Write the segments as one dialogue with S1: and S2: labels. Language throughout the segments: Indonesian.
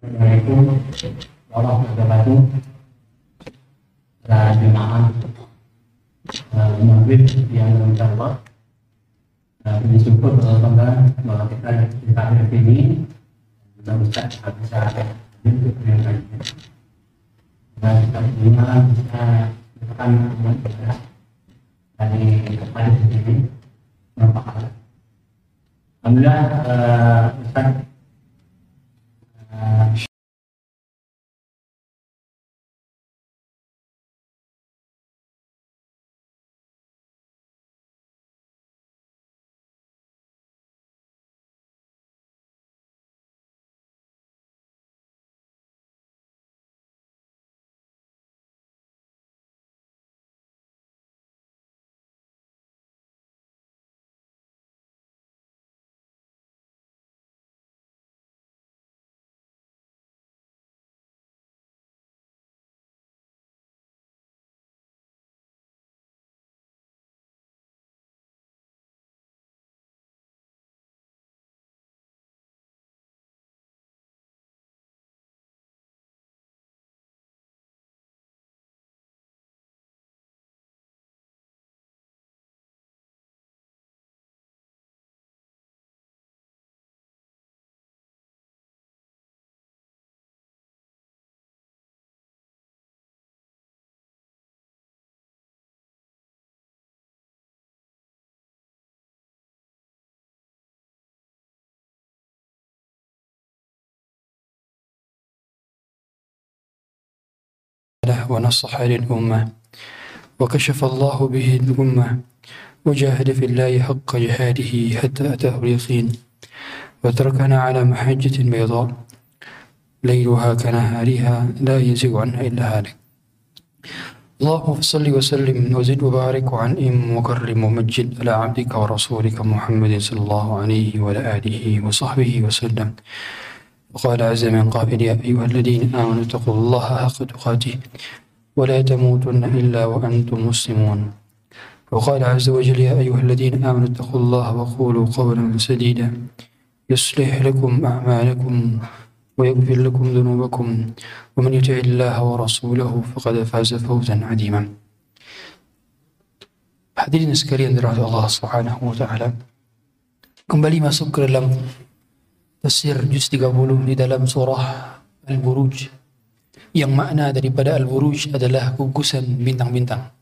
S1: Yaitu Allah wabarakatuh pada jemaah maghrib yang insyaAllah bersyukur Allah bahwa kita hadir di sini dan bisa untuk menyampaikan dan kita bisa menekan ibadah dari hadir di sini merupakan alhamdulillah Ustaz
S2: ونصح للأمة وكشف الله به الأمة وجاهد في الله حق جهاده حتى أتاه اليقين وتركنا على محجة بيضاء ليلها كنهارها لا يزيغ عنها إلا هالك. اللهم صل وسلم وزد وبارك وعنئم وكرم ومجد على عبدك ورسولك محمد صلى الله عليه وعلى آله وصحبه وسلم. وقال عز من قائل يا أيها الذين آمنوا اتقوا الله حق تقاته ولا تموتن إلا وأنتم مسلمون. وقال عز وجل يا أيها الذين آمنوا اتقوا الله وقولوا قولا سديدا يصلح لكم أعمالكم ويغفر لكم ذنوبكم ومن يطع الله ورسوله فقد فاز فوزا عظيما. Hadirin sekalian dirahmati Allah Subhanahu wa taala. Kembali masuk ke dalam tafsir juz 30 di dalam surah Al-Buruj, yang makna daripada Al-Buruj adalah gugusan bintang-bintang.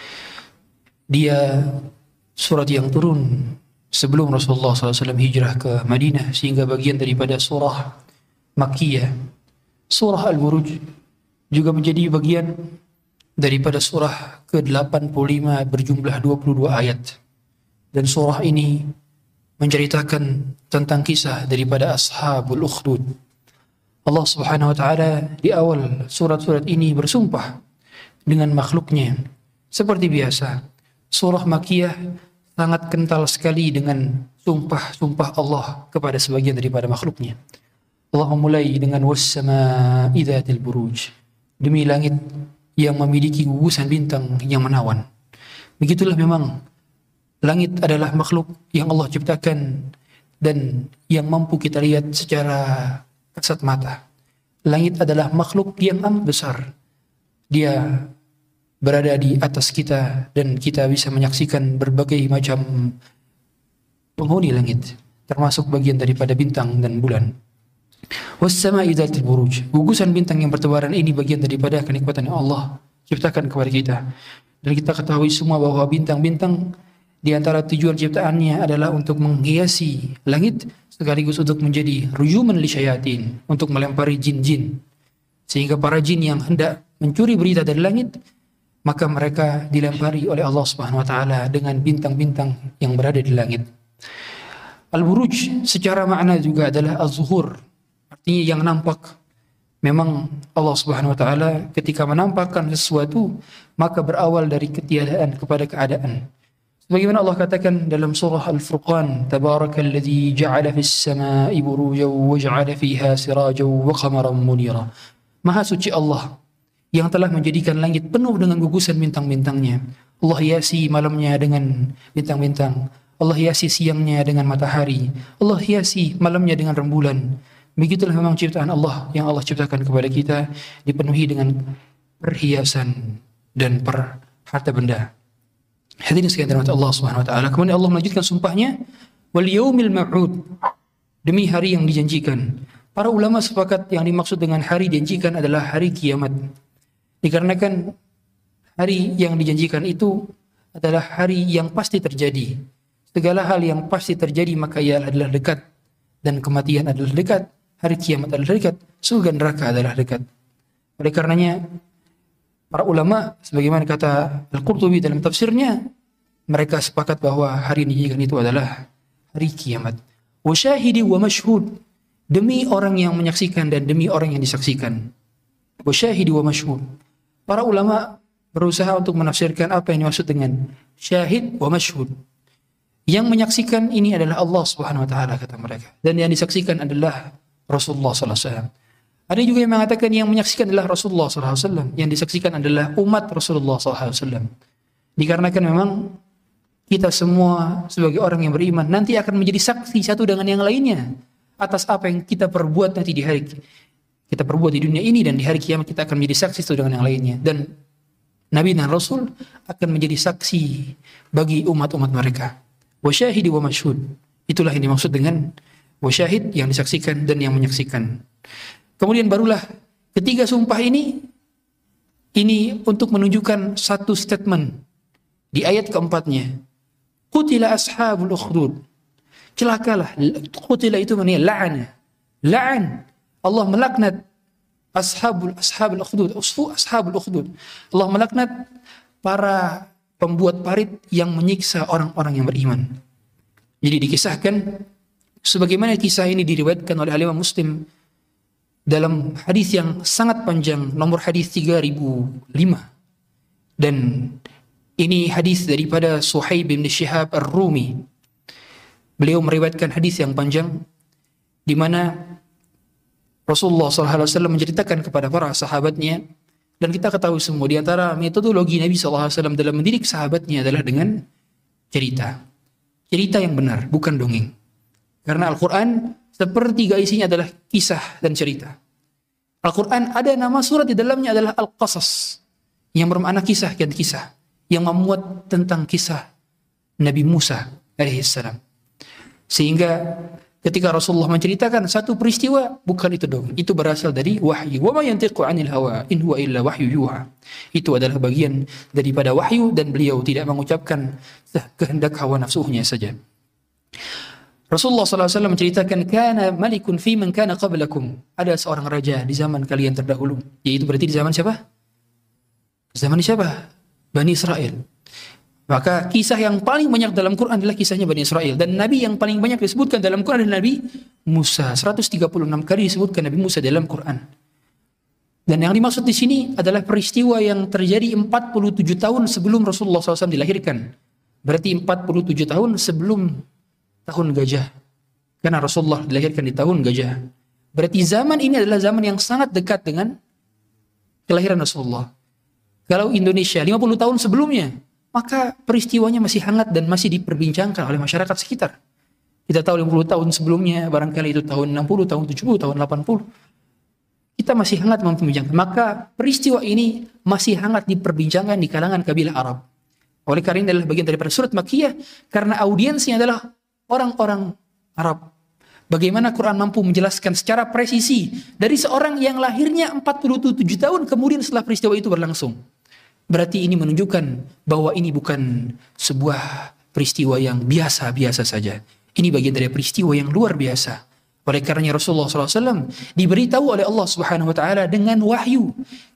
S2: Dia surat yang turun sebelum Rasulullah SAW hijrah ke Madinah, sehingga bagian daripada surah Makkiyah. Surah Al-Buruj juga menjadi bagian daripada surah ke-85 berjumlah 22 ayat. Dan surah ini menceritakan tentang kisah daripada Ashabul Ukhdud. Allah Subhanahu wa taala di awal surat-surat ini bersumpah dengan makhluknya. Seperti biasa, surah Makkiyah sangat kental sekali dengan sumpah-sumpah Allah kepada sebagian daripada makhluknya. Allah memulai dengan was-samaa'i dzatil buruj, demi langit yang memiliki gugusan bintang yang menawan. Begitulah memang langit adalah makhluk yang Allah ciptakan dan yang mampu kita lihat secara kasat mata. Langit adalah makhluk yang amat besar. Dia berada di atas kita dan kita bisa menyaksikan berbagai macam penghuni langit, termasuk bagian daripada bintang dan bulan. Was-samaa'i dzatil buruj, gugusan bintang yang bertebaran ini bagian daripada kenikmatan yang Allah ciptakan kepada kita. Dan kita ketahui semua bahwa bintang-bintang di antara tujuan ciptaannya adalah untuk menghiasi langit, sekaligus untuk menjadi rujuman lisyayatin, untuk melempari jin-jin. Sehingga para jin yang hendak mencuri berita dari langit, maka mereka dilempari oleh Allah Subhanahu wa taala dengan bintang-bintang yang berada di langit. Al-Buruj secara makna juga adalah az-zuhur, artinya yang nampak. Memang Allah Subhanahu wa taala ketika menampakkan sesuatu, maka berawal dari ketiadaan kepada keadaan. Sebagaimana Allah katakan dalam surah Al-Furqan, Tabarakalladzi ja'ala fis samaa'i burujan wa ja'ala fiha sirajan wa qamaran munira. Maha suci Allah yang telah menjadikan langit penuh dengan gugusan bintang-bintangnya. Allah hiasi malamnya dengan bintang-bintang. Allah hiasi siangnya dengan matahari. Allah hiasi malamnya dengan rembulan. Begitulah memang ciptaan Allah yang Allah ciptakan kepada kita, dipenuhi dengan perhiasan dan harta benda. Hadirin sekalian dirahmati Allah Subhanahu wa taala. Kemudian Allah melanjutkan sumpahnya, wal yaumil mau'ud, demi hari yang dijanjikan. Para ulama sepakat yang dimaksud dengan hari dijanjikan adalah hari kiamat. Dikarenakan hari yang dijanjikan itu adalah hari yang pasti terjadi. Segala hal yang pasti terjadi maka ia adalah dekat, dan kematian adalah dekat, hari kiamat adalah dekat, surga neraka adalah dekat. Oleh karenanya para ulama sebagaimana kata Al-Qurtubi dalam tafsirnya, mereka sepakat bahwa hari yang dijanjikan itu adalah hari kiamat. Wa syahidi wa mashhud, demi orang yang menyaksikan dan demi orang yang disaksikan. Wa syahidi wa mashhud. Para ulama berusaha untuk menafsirkan apa yang dimaksud dengan syahid wa mashhud. Yang menyaksikan ini adalah Allah Subhanahu wa taala kata mereka, dan yang disaksikan adalah Rasulullah sallallahu alaihi wasallam. Ada juga yang mengatakan yang menyaksikan adalah Rasulullah sallallahu alaihi wasallam, yang disaksikan adalah umat Rasulullah sallallahu alaihi wasallam. Dikarenakan memang kita semua sebagai orang yang beriman nanti akan menjadi saksi satu dengan yang lainnya atas apa yang kita perbuat nanti di hari kita perbuat di dunia ini, dan di hari kiamat kita akan menjadi saksi satu dengan yang lainnya, dan Nabi dan Rasul akan menjadi saksi bagi umat-umat mereka. Wa syahidi wa mashhud, itulah yang dimaksud dengan wa syahid, yang disaksikan dan yang menyaksikan. Kemudian barulah ketiga sumpah ini untuk menunjukkan satu statement di ayat keempatnya. Qutila ashabul ukhdud, celakalah. Qutila itu maknanya la'an. Allah melaknat ashabul ukhdud, ashabul ukhdud. Allah melaknat para pembuat parit yang menyiksa orang-orang yang beriman. Jadi dikisahkan sebagaimana kisah ini diriwayatkan oleh Imam Muslim dalam hadis yang sangat panjang, nomor hadis 3005. Dan ini hadis daripada Suhaib bin Syihab Ar-Rumi. Beliau meriwayatkan hadis yang panjang di mana Rasulullah SAW menceritakan kepada para sahabatnya, dan kita ketahui semua di antara metodologi Nabi SAW dalam mendidik sahabatnya adalah dengan cerita yang benar, bukan dongeng. Karena Al-Quran sepertiga isinya adalah kisah dan cerita. Al-Quran ada nama surat di dalamnya adalah Al-Qasas, yang bermakna kisah dan kisah, yang memuat tentang kisah Nabi Musa alaihissalam. Sehingga ketika Rasulullah menceritakan satu peristiwa, bukan itu dong, itu berasal dari wahyu. Wa ma yantiqu 'anil hawa in huwa illa wahyu yuha. Itu adalah bagian daripada wahyu, dan beliau tidak mengucapkan kehendak hawa nafsunya saja. Rasulullah SAW menceritakan, kana malikun fi man kana qablakum, ada seorang raja di zaman kalian terdahulu, yaitu berarti di zaman siapa? Zaman siapa? Bani Israel. Maka kisah yang paling banyak dalam Quran adalah kisahnya Bani Israel, dan Nabi yang paling banyak disebutkan dalam Quran adalah Nabi Musa. 136 kali disebutkan Nabi Musa dalam Quran. Dan yang dimaksud di sini adalah peristiwa yang terjadi 47 tahun sebelum Rasulullah SAW dilahirkan. Berarti 47 tahun sebelum tahun gajah. Karena Rasulullah dilahirkan di tahun gajah. Berarti zaman ini adalah zaman yang sangat dekat dengan kelahiran Rasulullah. Kalau Indonesia 50 tahun sebelumnya, maka peristiwanya masih hangat dan masih diperbincangkan oleh masyarakat sekitar. Kita tahu 50 tahun sebelumnya, barangkali itu tahun 60, tahun 70, tahun 80. Kita masih hangat memperbincangkan. Maka peristiwa ini masih hangat diperbincangkan di kalangan kabilah Arab. Oleh karena ini adalah bagian daripada surat Makkiyah, karena audiensnya adalah orang-orang Arab. Bagaimana Quran mampu menjelaskan secara presisi dari seorang yang lahirnya 47 tahun kemudian setelah peristiwa itu berlangsung. Berarti ini menunjukkan bahwa ini bukan sebuah peristiwa yang biasa-biasa saja. Ini bagian dari peristiwa yang luar biasa. Oleh karenanya Rasulullah SAW diberitahu oleh Allah Subhanahu Wa Taala dengan wahyu.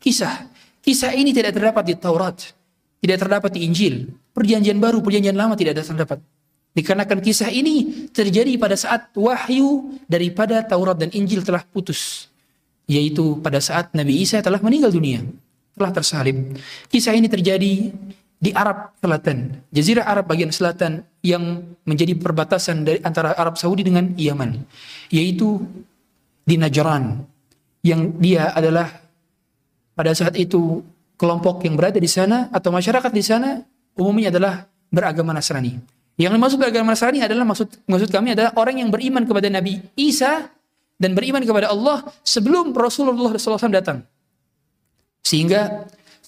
S2: Kisah ini tidak terdapat di Taurat, tidak terdapat di Injil. Perjanjian baru, perjanjian lama tidak ada terdapat. Dikarenakan kisah ini terjadi pada saat wahyu daripada Taurat dan Injil telah putus. Yaitu pada saat Nabi Isa telah meninggal dunia, telah tersalib. Kisah ini terjadi di Arab Selatan, Jazirah Arab bagian selatan yang menjadi perbatasan dari antara Arab Saudi dengan Yaman, yaitu di Najran, yang dia adalah pada saat itu kelompok yang berada di sana atau masyarakat di sana umumnya adalah beragama Nasrani. Yang dimaksud beragama Nasrani adalah maksud kami adalah orang yang beriman kepada Nabi Isa dan beriman kepada Allah sebelum Rasulullah SAW datang. Sehingga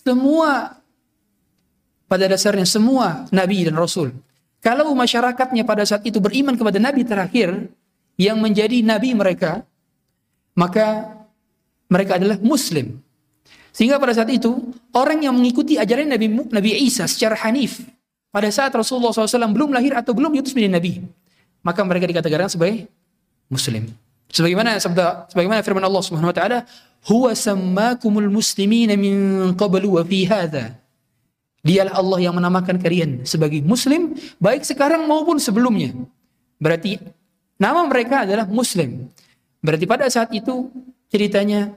S2: pada dasarnya semua nabi dan rasul, kalau masyarakatnya pada saat itu beriman kepada nabi terakhir yang menjadi nabi mereka, maka mereka adalah muslim. Sehingga pada saat itu orang yang mengikuti ajaran Nabi Isa secara hanif pada saat Rasulullah SAW belum lahir atau belum diutus menjadi nabi, maka mereka dikatakan sebagai muslim. Sebagaimana firman Allah Subhanahu wa taala, "Huwa sammakumul muslimina min qablu wa fi hadza." Dialah Allah yang menamakan kalian sebagai muslim baik sekarang maupun sebelumnya. Berarti nama mereka adalah muslim. Berarti pada saat itu ceritanya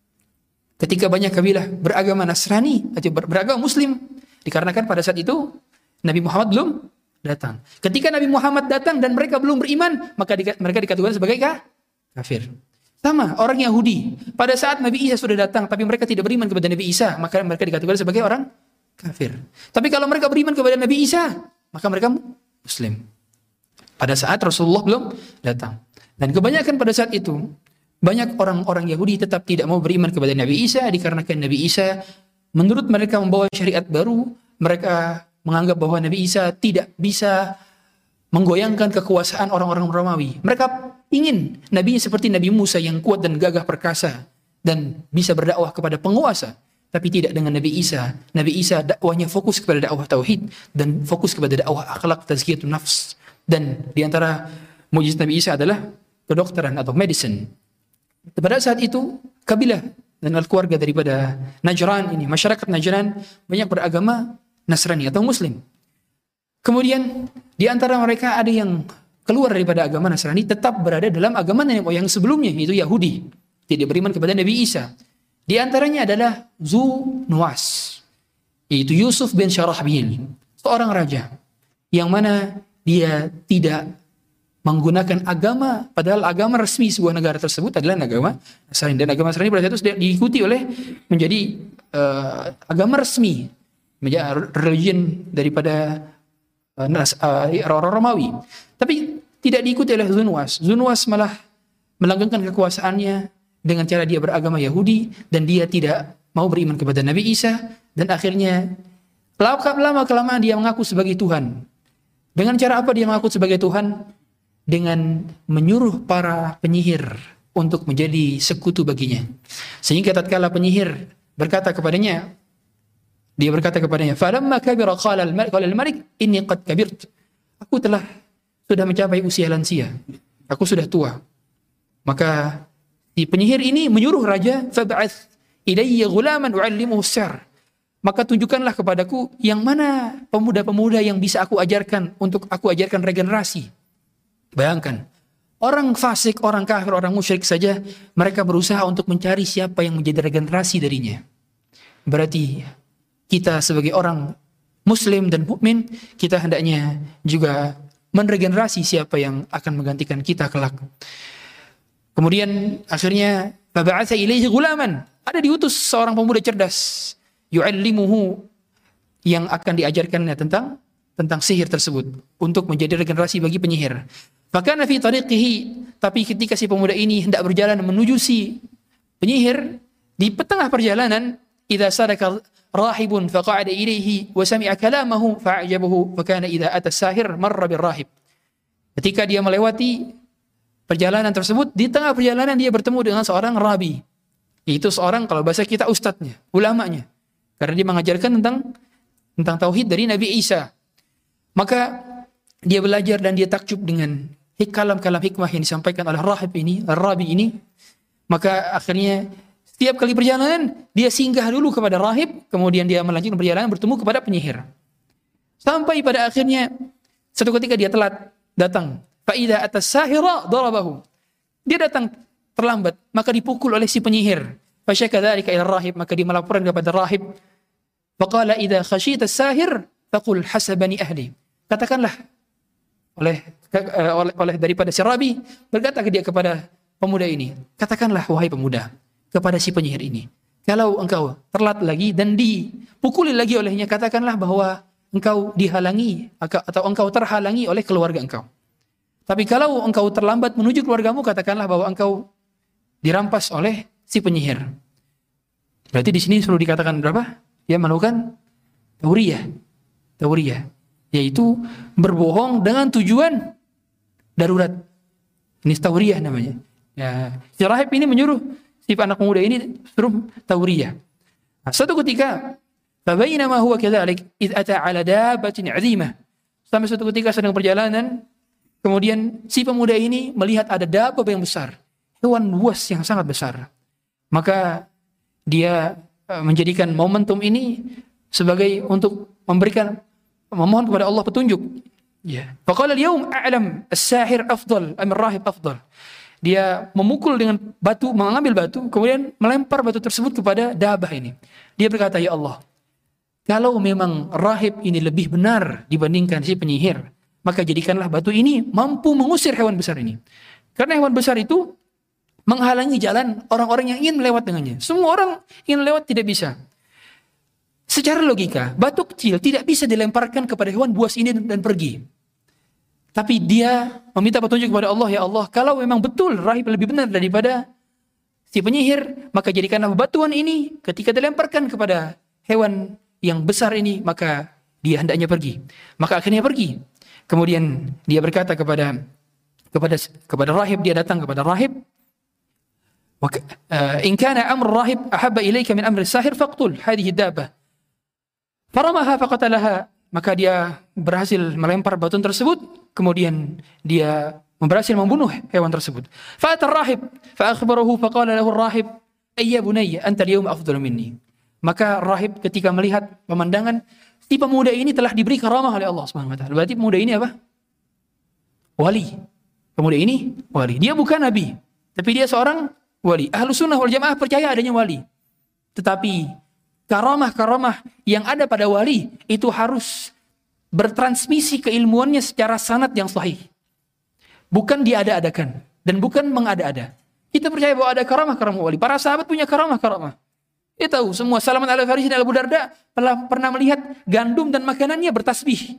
S2: ketika banyak kabilah beragama Nasrani atau beragama Muslim, dikarenakan pada saat itu Nabi Muhammad belum datang. Ketika Nabi Muhammad datang dan mereka belum beriman, maka mereka dikategorikan sebagai kafir. Sama orang Yahudi, pada saat Nabi Isa sudah datang tapi mereka tidak beriman kepada Nabi Isa, maka mereka dikategorikan sebagai orang kafir. Tapi kalau mereka beriman kepada Nabi Isa, maka mereka Muslim. Pada saat Rasulullah belum datang. Dan kebanyakan pada saat itu banyak orang-orang Yahudi tetap tidak mau beriman kepada Nabi Isa dikarenakan Nabi Isa menurut mereka membawa syariat baru. Mereka menganggap bahwa Nabi Isa tidak bisa menggoyangkan kekuasaan orang-orang Romawi. Mereka ingin nabinya seperti Nabi Musa yang kuat dan gagah perkasa dan bisa berdakwah kepada penguasa. Tapi tidak dengan Nabi Isa. Nabi Isa dakwahnya fokus kepada dakwah tauhid dan fokus kepada dakwah akhlak, tazkiyatun nafs. Dan di antara mukjizat Nabi Isa adalah kedokteran atau medicine. Pada saat itu kabilah dan keluarga daripada Najran ini, masyarakat Najran banyak beragama Nasrani atau Muslim. Kemudian di antara mereka ada yang keluar daripada agama Nasrani, tetap berada dalam agama nenek moyang sebelumnya, yaitu Yahudi, tidak beriman kepada Nabi Isa. Di antaranya adalah Zunuwas, yaitu Yusuf bin Syarahbil, seorang raja yang mana dia tidak menggunakan agama, padahal agama resmi sebuah negara tersebut adalah agama Nasrani, dan agama Nasrani pada saat itu diikuti oleh menjadi agama resmi, menjadi religion daripada orang Romawi. Tapi tidak diikuti oleh Zunuwas. Zunuwas malah melanggengkan kekuasaannya dengan cara dia beragama Yahudi dan dia tidak mau beriman kepada Nabi Isa, dan akhirnya lama-kelamaan dia mengaku sebagai Tuhan. Dengan cara apa dia mengaku sebagai Tuhan? Dengan menyuruh para penyihir untuk menjadi sekutu baginya. Sehingga tatkala penyihir berkata kepadanya, dia berkata kepadanya, "Falamma kabira qala al-malik inni qad kabirt." Aku sudah mencapai usia lansia. Aku sudah tua. Maka si penyihir ini menyuruh raja, "Fab'ath ilayya ghulaman u'allimuhu as-sihr." Maka tunjukkanlah kepadaku yang mana pemuda-pemuda yang bisa aku ajarkan untuk aku ajarkan regenerasi. Bayangkan, orang fasik, orang kafir, orang musyrik saja mereka berusaha untuk mencari siapa yang menjadi regenerasi darinya. Berarti kita sebagai orang Muslim dan mukmin, kita hendaknya juga meregenerasi siapa yang akan menggantikan kita kelak. Kemudian akhirnya fab'atha ilaihi ghulaman, ada diutus seorang pemuda cerdas, yu'allimuhu, yang akan diajarkannya tentang sihir tersebut untuk menjadi regenerasi bagi penyihir. Fakana fi tariqihi, tapi ketika si pemuda ini hendak berjalan menuju si penyihir, di tengah perjalanan, idza sadaka rahibun faqa'ada ilaihi wa sami'a kalamahu fa'ajabahu fakana idza ata sahir marra birrahib. Ketika dia melewati perjalanan tersebut, di tengah perjalanan dia bertemu dengan seorang rabi. Itu seorang, kalau bahasa kita, ustadznya, ulamanya. Karena dia mengajarkan tentang tauhid dari Nabi Isa. Maka dia belajar dan dia takjub dengan kalam-kalam hikmah yang disampaikan oleh rabi ini. Maka akhirnya setiap kali perjalanan dia singgah dulu kepada rahib, kemudian dia melanjutkan perjalanan bertemu kepada penyihir. Sampai pada akhirnya satu ketika dia telat datang. Fa idza atas sahira darabahu. Dia datang terlambat, maka dipukul oleh si penyihir. Fa syaka dzalika ila rahib, maka dia melaporkan kepada rahib. Faqala idza khashita as-sahir faqul hasabani ahli. Katakanlah oleh daripada si rabi, berkata dia kepada pemuda ini, katakanlah wahai pemuda kepada si penyihir ini, kalau engkau terlambat lagi dan dipukuli lagi olehnya, katakanlah bahwa engkau dihalangi atau engkau terhalangi oleh keluarga engkau. Tapi kalau engkau terlambat menuju keluargamu, katakanlah bahwa engkau dirampas oleh si penyihir. Berarti di sini perlu dikatakan berapa? Dia melakukan tauriyah, yaitu berbohong dengan tujuan darurat. Ini tauriyah namanya. Ya, si rahib ini menyuruh si anak muda ini suruh tauriyah. Nah, suatu ketika, fabainama huwa kadzalik id ata ala dabbatin 'azimah. Sampai suatu ketika sedang perjalanan, kemudian si pemuda ini melihat ada dabbah yang besar, hewan buas yang sangat besar. Maka dia menjadikan momentum ini sebagai untuk memohon kepada Allah petunjuk. Ya. Faqala al-yawm a'lam as-sahir afdal am ar-rahib afdal. Dia memukul dengan batu, mengambil batu, kemudian melempar batu tersebut kepada dabah ini. Dia berkata, ya Allah, kalau memang rahib ini lebih benar dibandingkan si penyihir, maka jadikanlah batu ini mampu mengusir hewan besar ini. Karena hewan besar itu menghalangi jalan orang-orang yang ingin melewat dengannya. Semua orang ingin lewat tidak bisa. Secara logika, batu kecil tidak bisa dilemparkan kepada hewan buas ini dan pergi. Tapi dia meminta petunjuk kepada Allah, ya Allah, kalau memang betul rahib lebih benar daripada si penyihir, maka jadikanlah batuan ini ketika dilemparkan kepada hewan yang besar ini, maka dia hendaknya pergi. Maka akhirnya pergi. Kemudian dia berkata kepada rahib, dia datang kepada rahib, in kana amr rahib ahabba ilayka min amri sahir faqtul hadhihi dabbah. Faramaha faqatalaha. Maka dia berhasil melempar batu tersebut, kemudian dia berhasil membunuh hewan tersebut. Fa'atar rahib fa akhbarahu faqala lahu ar-rahib ayya bunayya anta al-yawma afdalu minni. Maka rahib ketika melihat pemandangan si pemuda ini telah diberi karamah oleh Allah Subhanahu wa taala. Berarti pemuda ini apa? Wali. Pemuda ini wali. Dia bukan nabi, tapi dia seorang wali. Ahlus sunnah wal jamaah percaya adanya wali. Tetapi karamah-karamah yang ada pada wali itu harus bertransmisi keilmuannya secara sanad yang sahih. Bukan diada-adakan dan bukan mengada-ada. Kita percaya bahwa ada karamah-karamah wali. Para sahabat punya karamah-karamah. Kita tahu semua. Salman al-Farisi dan Abu Darda pernah melihat gandum dan makanannya bertasbih.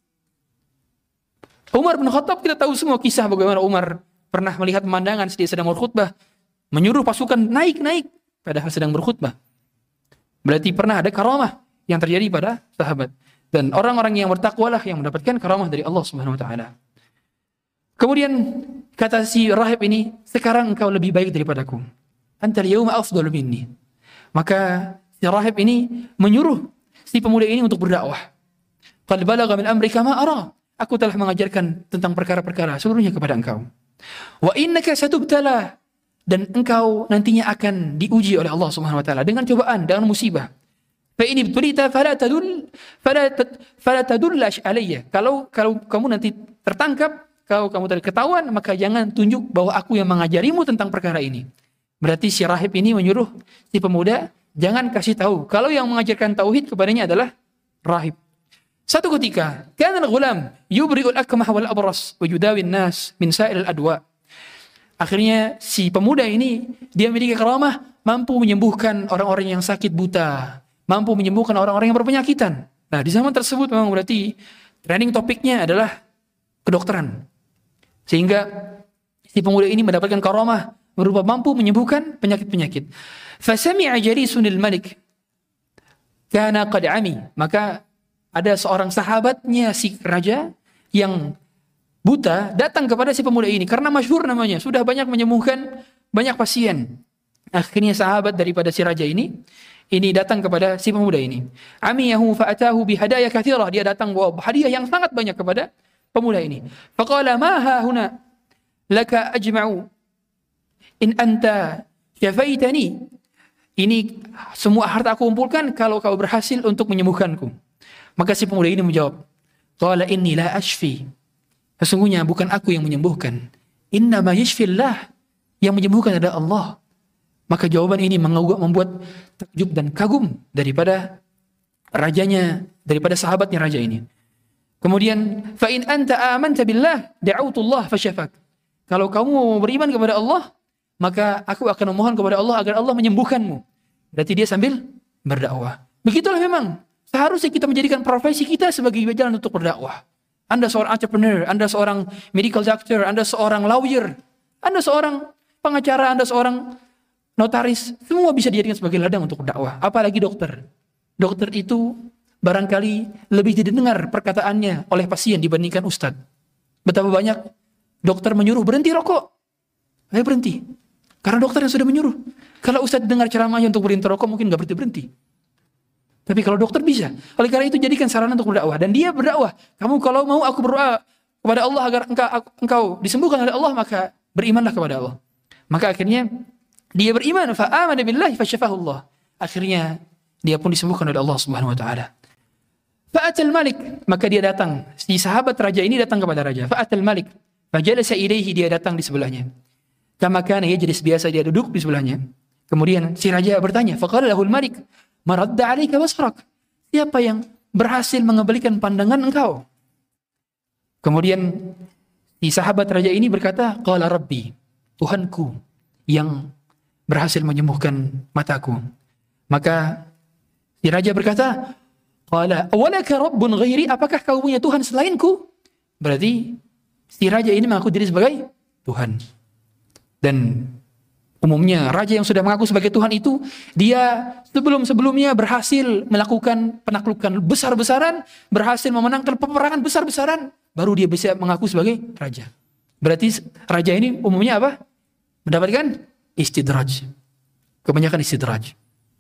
S2: Umar bin Khattab, kita tahu semua kisah bagaimana Umar pernah melihat pemandangan dia sedang berkhutbah, menyuruh pasukan naik padahal sedang berkhutbah. Berarti pernah ada karamah yang terjadi pada sahabat. Dan orang-orang yang bertakwalah yang mendapatkan karamah dari Allah Subhanahu wa taala. Kemudian kata si rahib ini, sekarang engkau lebih baik daripadaku. Anta al-yawma afdalu minni. Maka si rahib ini menyuruh si pemuda ini untuk berdakwah. Qad balagha min amrika ma ara. Aku telah mengajarkan tentang perkara-perkara seluruhnya kepada engkau. Wa innaka satubtala. Dan engkau nantinya akan diuji oleh Allah Subhanahu wa taala dengan cobaan, dengan musibah. Fa in ibtulita fala tadullash alayya. Kalau kamu nanti tertangkap, kalau kamu ketahuan, maka jangan tunjuk bahwa aku yang mengajarimu tentang perkara ini. Berarti si rahib ini menyuruh si pemuda jangan kasih tahu kalau yang mengajarkan tauhid kepadanya adalah rahib. Satu ketika, kana al-ghulam yubri'ul akmah wal abras wa yudawi an-nas min sa'il al-adwa. Akhirnya si pemuda ini dia memiliki karamah, mampu menyembuhkan orang-orang yang sakit buta, mampu menyembuhkan orang-orang yang berpenyakitan. Nah, di zaman tersebut memang berarti trending topiknya adalah kedokteran. Sehingga si pemuda ini mendapatkan karamah berupa mampu menyembuhkan penyakit-penyakit. Fasami'a jalisunil malik kana qad ami. Maka ada seorang sahabatnya si raja yang buta datang kepada si pemuda ini karena masyhur namanya, sudah banyak menyembuhkan banyak pasien. Akhirnya sahabat daripada si raja ini datang kepada si pemuda ini. Amiyahu fa'atahu bihadaya katsirah. Dia datang bawa hadiah yang sangat banyak kepada pemuda ini. Faqala ma ha huna laka ajma'u in anta syafaitani. Ini semua harta aku kumpulkan kalau kau berhasil untuk menyembuhkanku. Maka si pemuda ini menjawab, qala inni la ashfi. Sesungguhnya bukan aku yang menyembuhkan. Innama yashfillah. Yang menyembuhkan adalah Allah. Maka jawaban ini membuat takjub dan kagum daripada rajanya, daripada sahabatnya raja ini. Kemudian, fa in anta amanta billah da'autullah fasyafak. Kalau kamu beriman kepada Allah, maka aku akan memohon kepada Allah agar Allah menyembuhkanmu. Berarti dia sambil berdakwah. Begitulah memang seharusnya kita menjadikan profesi kita sebagai jalan untuk berdakwah. Anda seorang entrepreneur, Anda seorang medical doctor, Anda seorang lawyer, Anda seorang pengacara, Anda seorang notaris, semua bisa dijadikan sebagai ladang untuk dakwah. Apalagi dokter. Dokter itu barangkali lebih didengar perkataannya oleh pasien dibandingkan ustadz. Betapa banyak dokter menyuruh berhenti rokok. Ayo berhenti. Karena dokter yang sudah menyuruh. Kalau ustadz dengar ceramahnya untuk berhenti rokok, mungkin gak berhenti-berhenti. Tapi kalau dokter bisa. Oleh karena itu jadikan sarana untuk berdakwah. Dan dia berdakwah. Kamu kalau mau aku berdoa kepada Allah agar engkau disembuhkan oleh Allah, maka berimanlah kepada Allah. Maka akhirnya dia beriman. Fa'amana billahi fasyafahullah. Akhirnya dia pun disembuhkan oleh Allah Subhanahu wa taala. Fa'atal malik, maka dia datang. Si sahabat raja ini datang kepada raja. Fa'atal malik, fajalasa ilaihi, dia datang di sebelahnya. Kama kana yajlis, biasa dia duduk di sebelahnya. Kemudian si raja bertanya, faqala lahul malik, maradda 'alaika basrak. Siapa yang berhasil mengembalikan pandangan engkau? Kemudian si sahabat raja ini berkata, qala rabbi, Tuhanku yang berhasil menyembuhkan mataku. Maka si raja berkata, qala awalaka rabbun ghairi, apakah kau punya Tuhan selainku? Berarti si raja ini mengaku diri sebagai Tuhan. Dan umumnya raja yang sudah mengaku sebagai Tuhan itu, dia sebelum-sebelumnya berhasil melakukan penaklukan besar-besaran, berhasil memenangkan peperangan besar-besaran, baru dia bisa mengaku sebagai raja. Berarti raja ini umumnya apa? Mendapatkan istidraj. Kebanyakan istidraj.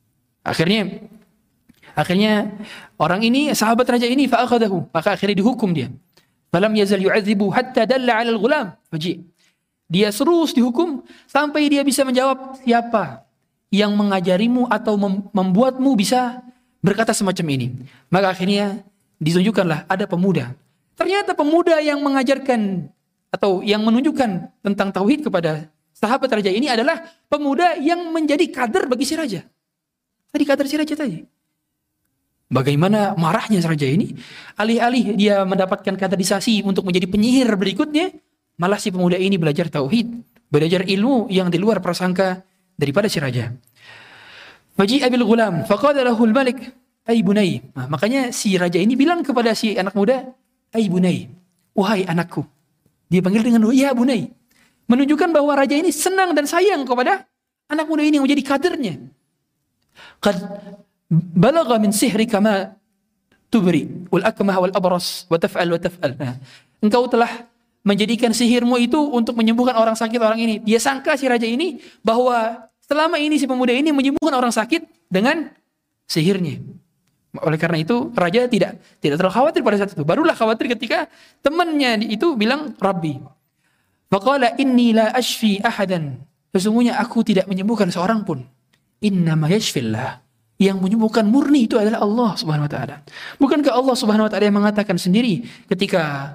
S2: Akhirnya orang ini, sahabat raja ini, fa'akhadahu, maka akhirnya dihukum dia. Falam yazal yu'adzibu hatta dalla 'ala al-ghulam faji. Dia terus dihukum sampai dia bisa menjawab, siapa yang mengajarimu atau membuatmu bisa berkata semacam ini. Maka akhirnya ditunjukkanlah ada pemuda. Ternyata pemuda yang mengajarkan atau yang menunjukkan tentang tauhid kepada sahabat raja ini adalah pemuda yang menjadi kader bagi si raja. Tadi kader si raja tadi. Bagaimana marahnya raja ini, alih-alih dia mendapatkan kaderisasi untuk menjadi penyihir berikutnya, malah si pemuda ini belajar tauhid, belajar ilmu yang di luar prasangka daripada si raja. Faji'a bil ghulam, faqala lahu al-malik, ay bunay. Nah, makanya si raja ini bilang kepada si anak muda, ay bunay, wahai anakku. Dia panggil dengan ya bunay. Menunjukkan bahwa raja ini senang dan sayang kepada anak muda ini yang menjadi kadernya. Qad balagha min sihrika ma tubri wal akmah wal abras wa taf'al wa taf'al. Nah, engkau telah menjadikan sihirmu itu untuk menyembuhkan orang sakit orang ini. Dia sangka si raja ini bahwa selama ini si pemuda ini menyembuhkan orang sakit dengan sihirnya. Oleh karena itu raja tidak terlalu khawatir pada saat itu. Barulah khawatir ketika temannya itu bilang Rabbi. Faqala inni la ashfi ahadan. Sesungguhnya aku tidak menyembuhkan seorang pun. Innama yashfillah. Yang menyembuhkan murni itu adalah Allah Subhanahu wa taala. Bukankah Allah Subhanahu wa taala yang mengatakan sendiri ketika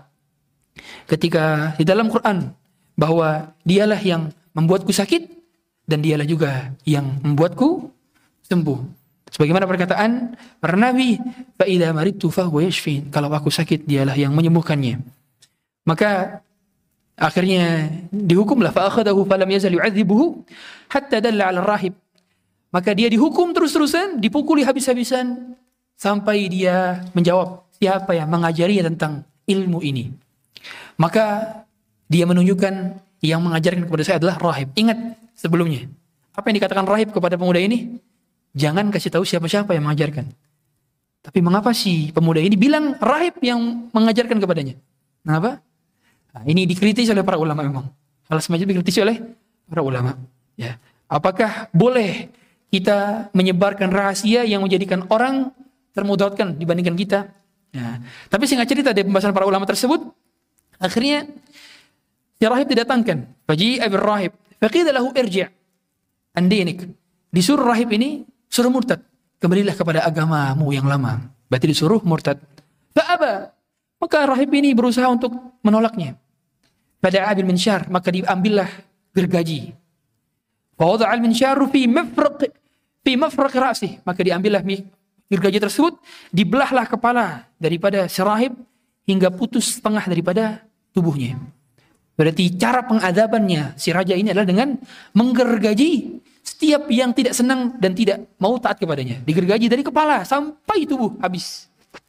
S2: di dalam Quran bahwa dialah yang membuatku sakit dan dialah juga yang membuatku sembuh. Sebagaimana perkataan para nabi, fa idza maridtu fa huwa yashfin. Kalau aku sakit dialah yang menyembuhkannya. Maka akhirnya dihukumlah fa akhadahu falam yazal yu'adzibuhu hatta dalla 'ala ar-rahib. Maka dia dihukum terus-terusan, dipukuli habis-habisan sampai dia menjawab siapa yang mengajarinya tentang ilmu ini. Maka dia menunjukkan yang mengajarkan kepada saya adalah rahib. Ingat sebelumnya, apa yang dikatakan rahib kepada pemuda ini? Jangan kasih tahu siapa-siapa yang mengajarkan. Tapi mengapa si pemuda ini bilang rahib yang mengajarkan kepadanya? Kenapa? Nah, ini dikritisi oleh para ulama memang. Hal semacam dikritisi oleh para ulama. Ya. Apakah boleh kita menyebarkan rahasia yang menjadikan orang termudaratkan dibandingkan kita? Ya. Tapi singkat cerita dari pembahasan para ulama tersebut, akhirnya si rahib didatangkan. Faji'a bir rahib, faqila lahu irji' an dinik. Disuruh rahib ini suruh murtad, kembalilah kepada agamamu yang lama. Berarti disuruh murtad. Fa'aba, maka rahib ini berusaha untuk menolaknya. Fada'a bil minsyar, maka diambillah gergaji. Fawada'a al minsyar fi mafraq ra'sih, maka diambillah gergaji tersebut, dibelahlah kepala daripada si rahib hingga putus setengah daripada tubuhnya. Berarti cara pengadabannya si raja ini adalah dengan menggergaji setiap yang tidak senang dan tidak mau taat kepadanya. Digergaji dari kepala sampai tubuh habis.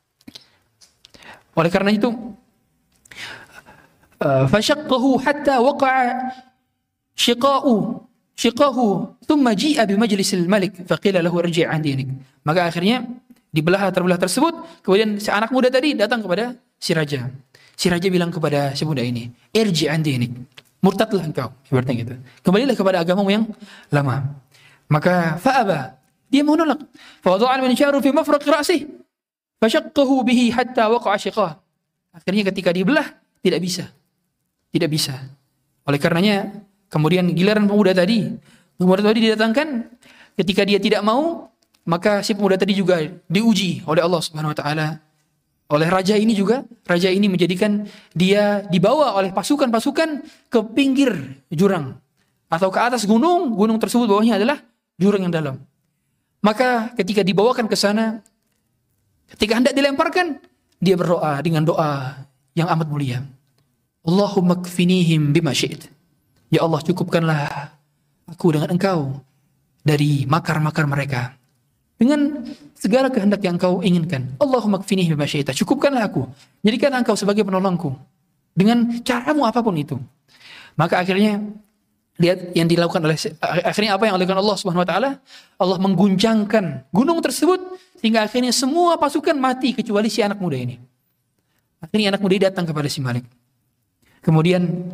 S2: Oleh karena itu, fashaqqahu hatta waqa'a shiqahu thumma ji'a bi majlisil malik faqila lahu irji' an dinik. Maka akhirnya dibelah tersebut, kemudian si anak muda tadi datang kepada si raja. Si raja bilang kepada si muda ini, irji' an dinik. Murtadlah engkau, seperti gitu. Kembalilah kepada agamamu yang lama. Maka fa'aba, dia menolak. Fa wada'al minsyaru fi mafraq ra'sih fashaqqahu bihi hatta waqa'a shiqah. Akhirnya ketika dibelah tidak bisa. Tidak bisa. Oleh karenanya kemudian giliran pemuda tadi didatangkan, ketika dia tidak mau, maka si pemuda tadi juga diuji oleh Allah Subhanahu wa taala. Oleh raja ini juga, raja ini menjadikan dia dibawa oleh pasukan-pasukan ke pinggir jurang atau ke atas gunung tersebut bawahnya adalah jurang yang dalam. Maka ketika dibawakan ke sana, ketika hendak dilemparkan, dia berdoa dengan doa yang amat mulia. Allahumma kfinihim bima syi'it. Ya Allah, cukupkanlah aku dengan engkau dari makar-makar mereka, dengan segala kehendak yang engkau inginkan. Allahumma kfinihim bima syi'it. Cukupkanlah aku, jadikan engkau sebagai penolongku dengan caramu apapun itu. Maka akhirnya lihat yang dilakukan akhirnya apa yang dilakukan Allah Subhanahu wa taala? Allah mengguncangkan gunung tersebut sehingga akhirnya semua pasukan mati kecuali si anak muda ini. Akhirnya anak muda ini datang kepada si Malik. Kemudian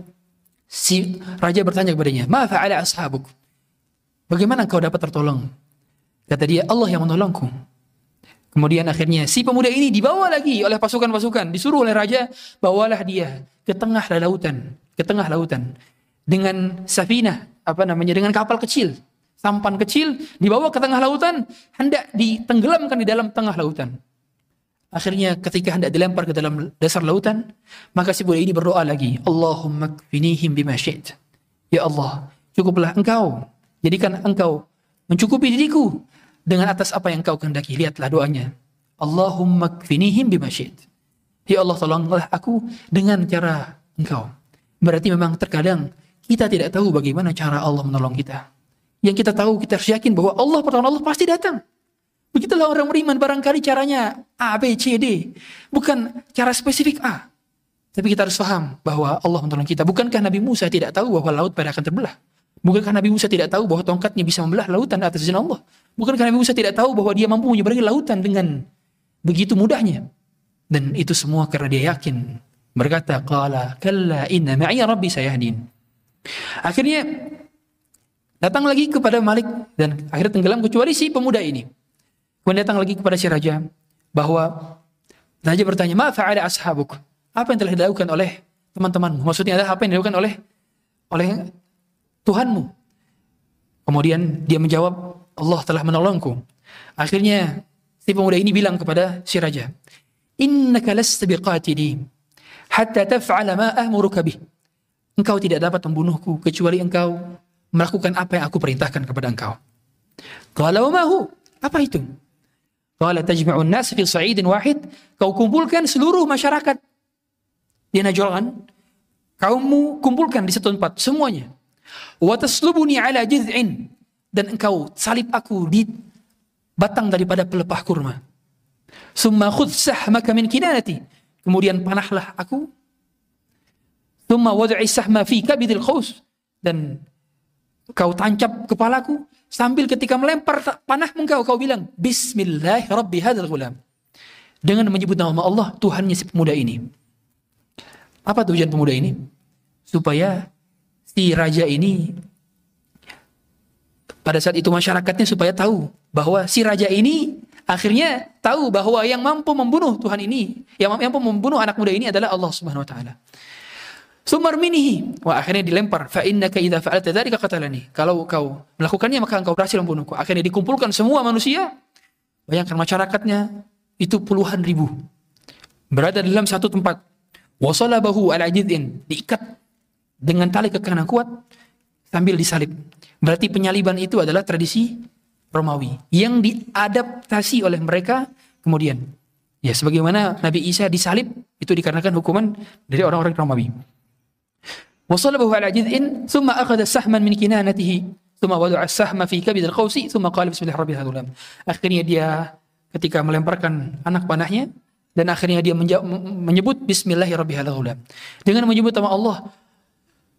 S2: si raja bertanya kepadanya, "Ma fa'ala ashabuk?" Bagaimana engkau dapat tertolong? Kata dia, Allah yang menolongku. Kemudian akhirnya si pemuda ini dibawa lagi oleh pasukan-pasukan, disuruh oleh raja, bawalah dia ke tengah lautan dengan safinah, dengan kapal kecil, sampan kecil, dibawa ke tengah lautan, hendak ditenggelamkan di dalam tengah lautan. Akhirnya ketika hendak dilempar ke dalam dasar lautan, maka si budak ini berdoa lagi, Allahumma kfinihim bima syi'it. Ya Allah, cukuplah engkau, jadikan engkau mencukupi diriku dengan atas apa yang engkau kehendaki. Lihatlah doanya, Allahumma kfinihim bima syi'it. Ya Allah, tolonglah aku dengan cara engkau. Berarti memang terkadang kita tidak tahu bagaimana cara Allah menolong kita. Yang kita tahu, kita harus yakin bahwa pertolongan Allah pasti datang. Begitulah orang beriman, barangkali caranya A, B, C, D. Bukan cara spesifik A. Tapi kita harus paham bahwa Allah menolong kita. Bukankah Nabi Musa tidak tahu bahwa laut pada akan terbelah? Bukankah Nabi Musa tidak tahu bahwa tongkatnya bisa membelah lautan atas izin Allah? Bukankah Nabi Musa tidak tahu bahwa dia mampu menyeberangi lautan dengan begitu mudahnya? Dan itu semua karena dia yakin. Berkata, qala kalla inna ma'iya rabbi sayahdin. Akhirnya datang lagi kepada Malik dan akhirnya tenggelam kecuali si pemuda ini. Kemudian datang lagi kepada si raja, bahwa raja bertanya, ma fa'ala ashabuk? Apa yang telah dilakukan oleh teman-temanmu? Maksudnya adalah apa yang dilakukan oleh Tuhanmu? Kemudian dia menjawab, Allah telah menolongku. Akhirnya si pemuda ini bilang kepada si raja, innaka lasta biqatili hatta taf'ala ma ahmuruka bih. Engkau tidak dapat membunuhku kecuali engkau melakukan apa yang aku perintahkan kepada engkau. Qala wa ma hu? Apa itu? Qala tajma'un nas fi sa'idin wahid. Kau kumpulkan seluruh masyarakat di Najran, kaummu kumpulkan di satu tempat semuanya. Wa taslubuni ala jiz'in, dan engkau salib aku di batang daripada pelepah kurma. Summa khudh sahmaka min kinanati, kemudian panahlah aku. Summa wad'i sahma fi kabidil qaus, dan kau tancap kepalaku sambil ketika melempar panah kau bilang Bismillah Rabbi hadzal ghulam, dengan menyebut nama Allah Tuhannya si pemuda ini. Apa tujuan pemuda ini? Supaya si raja ini pada saat itu masyarakatnya supaya tahu bahwa si raja ini akhirnya tahu bahwa yang mampu membunuh Tuhan ini, yang mampu membunuh anak muda ini adalah Allah Subhanahu wa taala. Sumar minihi, wah akhirnya dilempar. Fa innaka idza fa'alta dzalika qatalani. Kalau kau melakukannya maka engkau berhasil membunuhku. Akhirnya dikumpulkan semua manusia. Bayangkan masyarakatnya itu puluhan ribu berada dalam satu tempat. Wasalabahu ala jid'in, diikat dengan tali kekang kuat sambil disalib. Berarti penyaliban itu adalah tradisi Romawi yang diadaptasi oleh mereka kemudian. Ya sebagaimana Nabi Isa disalib itu dikarenakan hukuman dari orang-orang Romawi. وصلبه على جذع ثم أخذ سهما من كنانته ثم وضع السهم في كبد القوس ثم قال بسم الله ربي هذا الغلام. Akhirnya dia ketika melemparkan anak panahnya dan akhirnya dia menyebut Bismillahirrahmanirrahim dengan menyebut nama Allah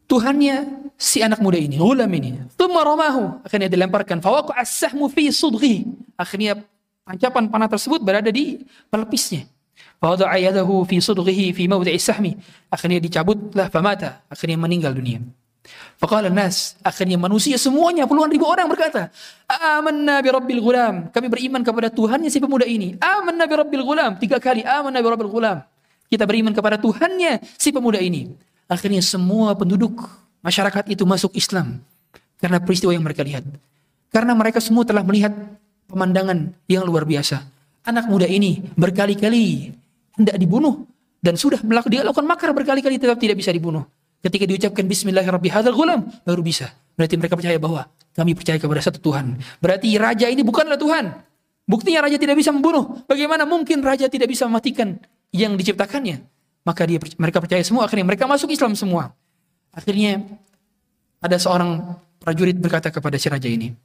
S2: Tuhannya si anak muda ini, ghulam ini. Thumma ramahu, akhirnya dilemparkan. Fawaqa'a as-sahmu fi sudghihi. Akhirnya pancapan panah tersebut berada di pelepisnya. Fawada'a yadahu fi sudghihi fi mawdi'i sahmi. Akhirnya dicabutlah, famata. Akhirnya meninggal dunia. Faqala an-nas, akhirnya manusia semuanya puluhan ribu orang berkata, amanna bi rabbil ghulam, kami beriman kepada Tuhannya si pemuda ini. Amanna bi rabbil ghulam, 3 kali amanna bi rabbil ghulam. Kita beriman kepada Tuhannya si pemuda ini. Akhirnya semua penduduk masyarakat itu masuk Islam karena peristiwa yang mereka lihat. Karena mereka semua telah melihat pemandangan yang luar biasa. Anak muda ini berkali-kali hendak dibunuh dan sudah dilakukan makar berkali-kali tetap tidak bisa dibunuh. Ketika diucapkan bismillahirrahmanirrahim ghulam, baru bisa. Berarti mereka percaya bahwa kami percaya kepada satu Tuhan. Berarti raja ini bukanlah Tuhan. Buktinya raja tidak bisa membunuh. Bagaimana mungkin raja tidak bisa mematikan yang diciptakannya? Maka mereka percaya semua. Akhirnya mereka masuk Islam semua. Akhirnya ada seorang prajurit berkata kepada si raja ini,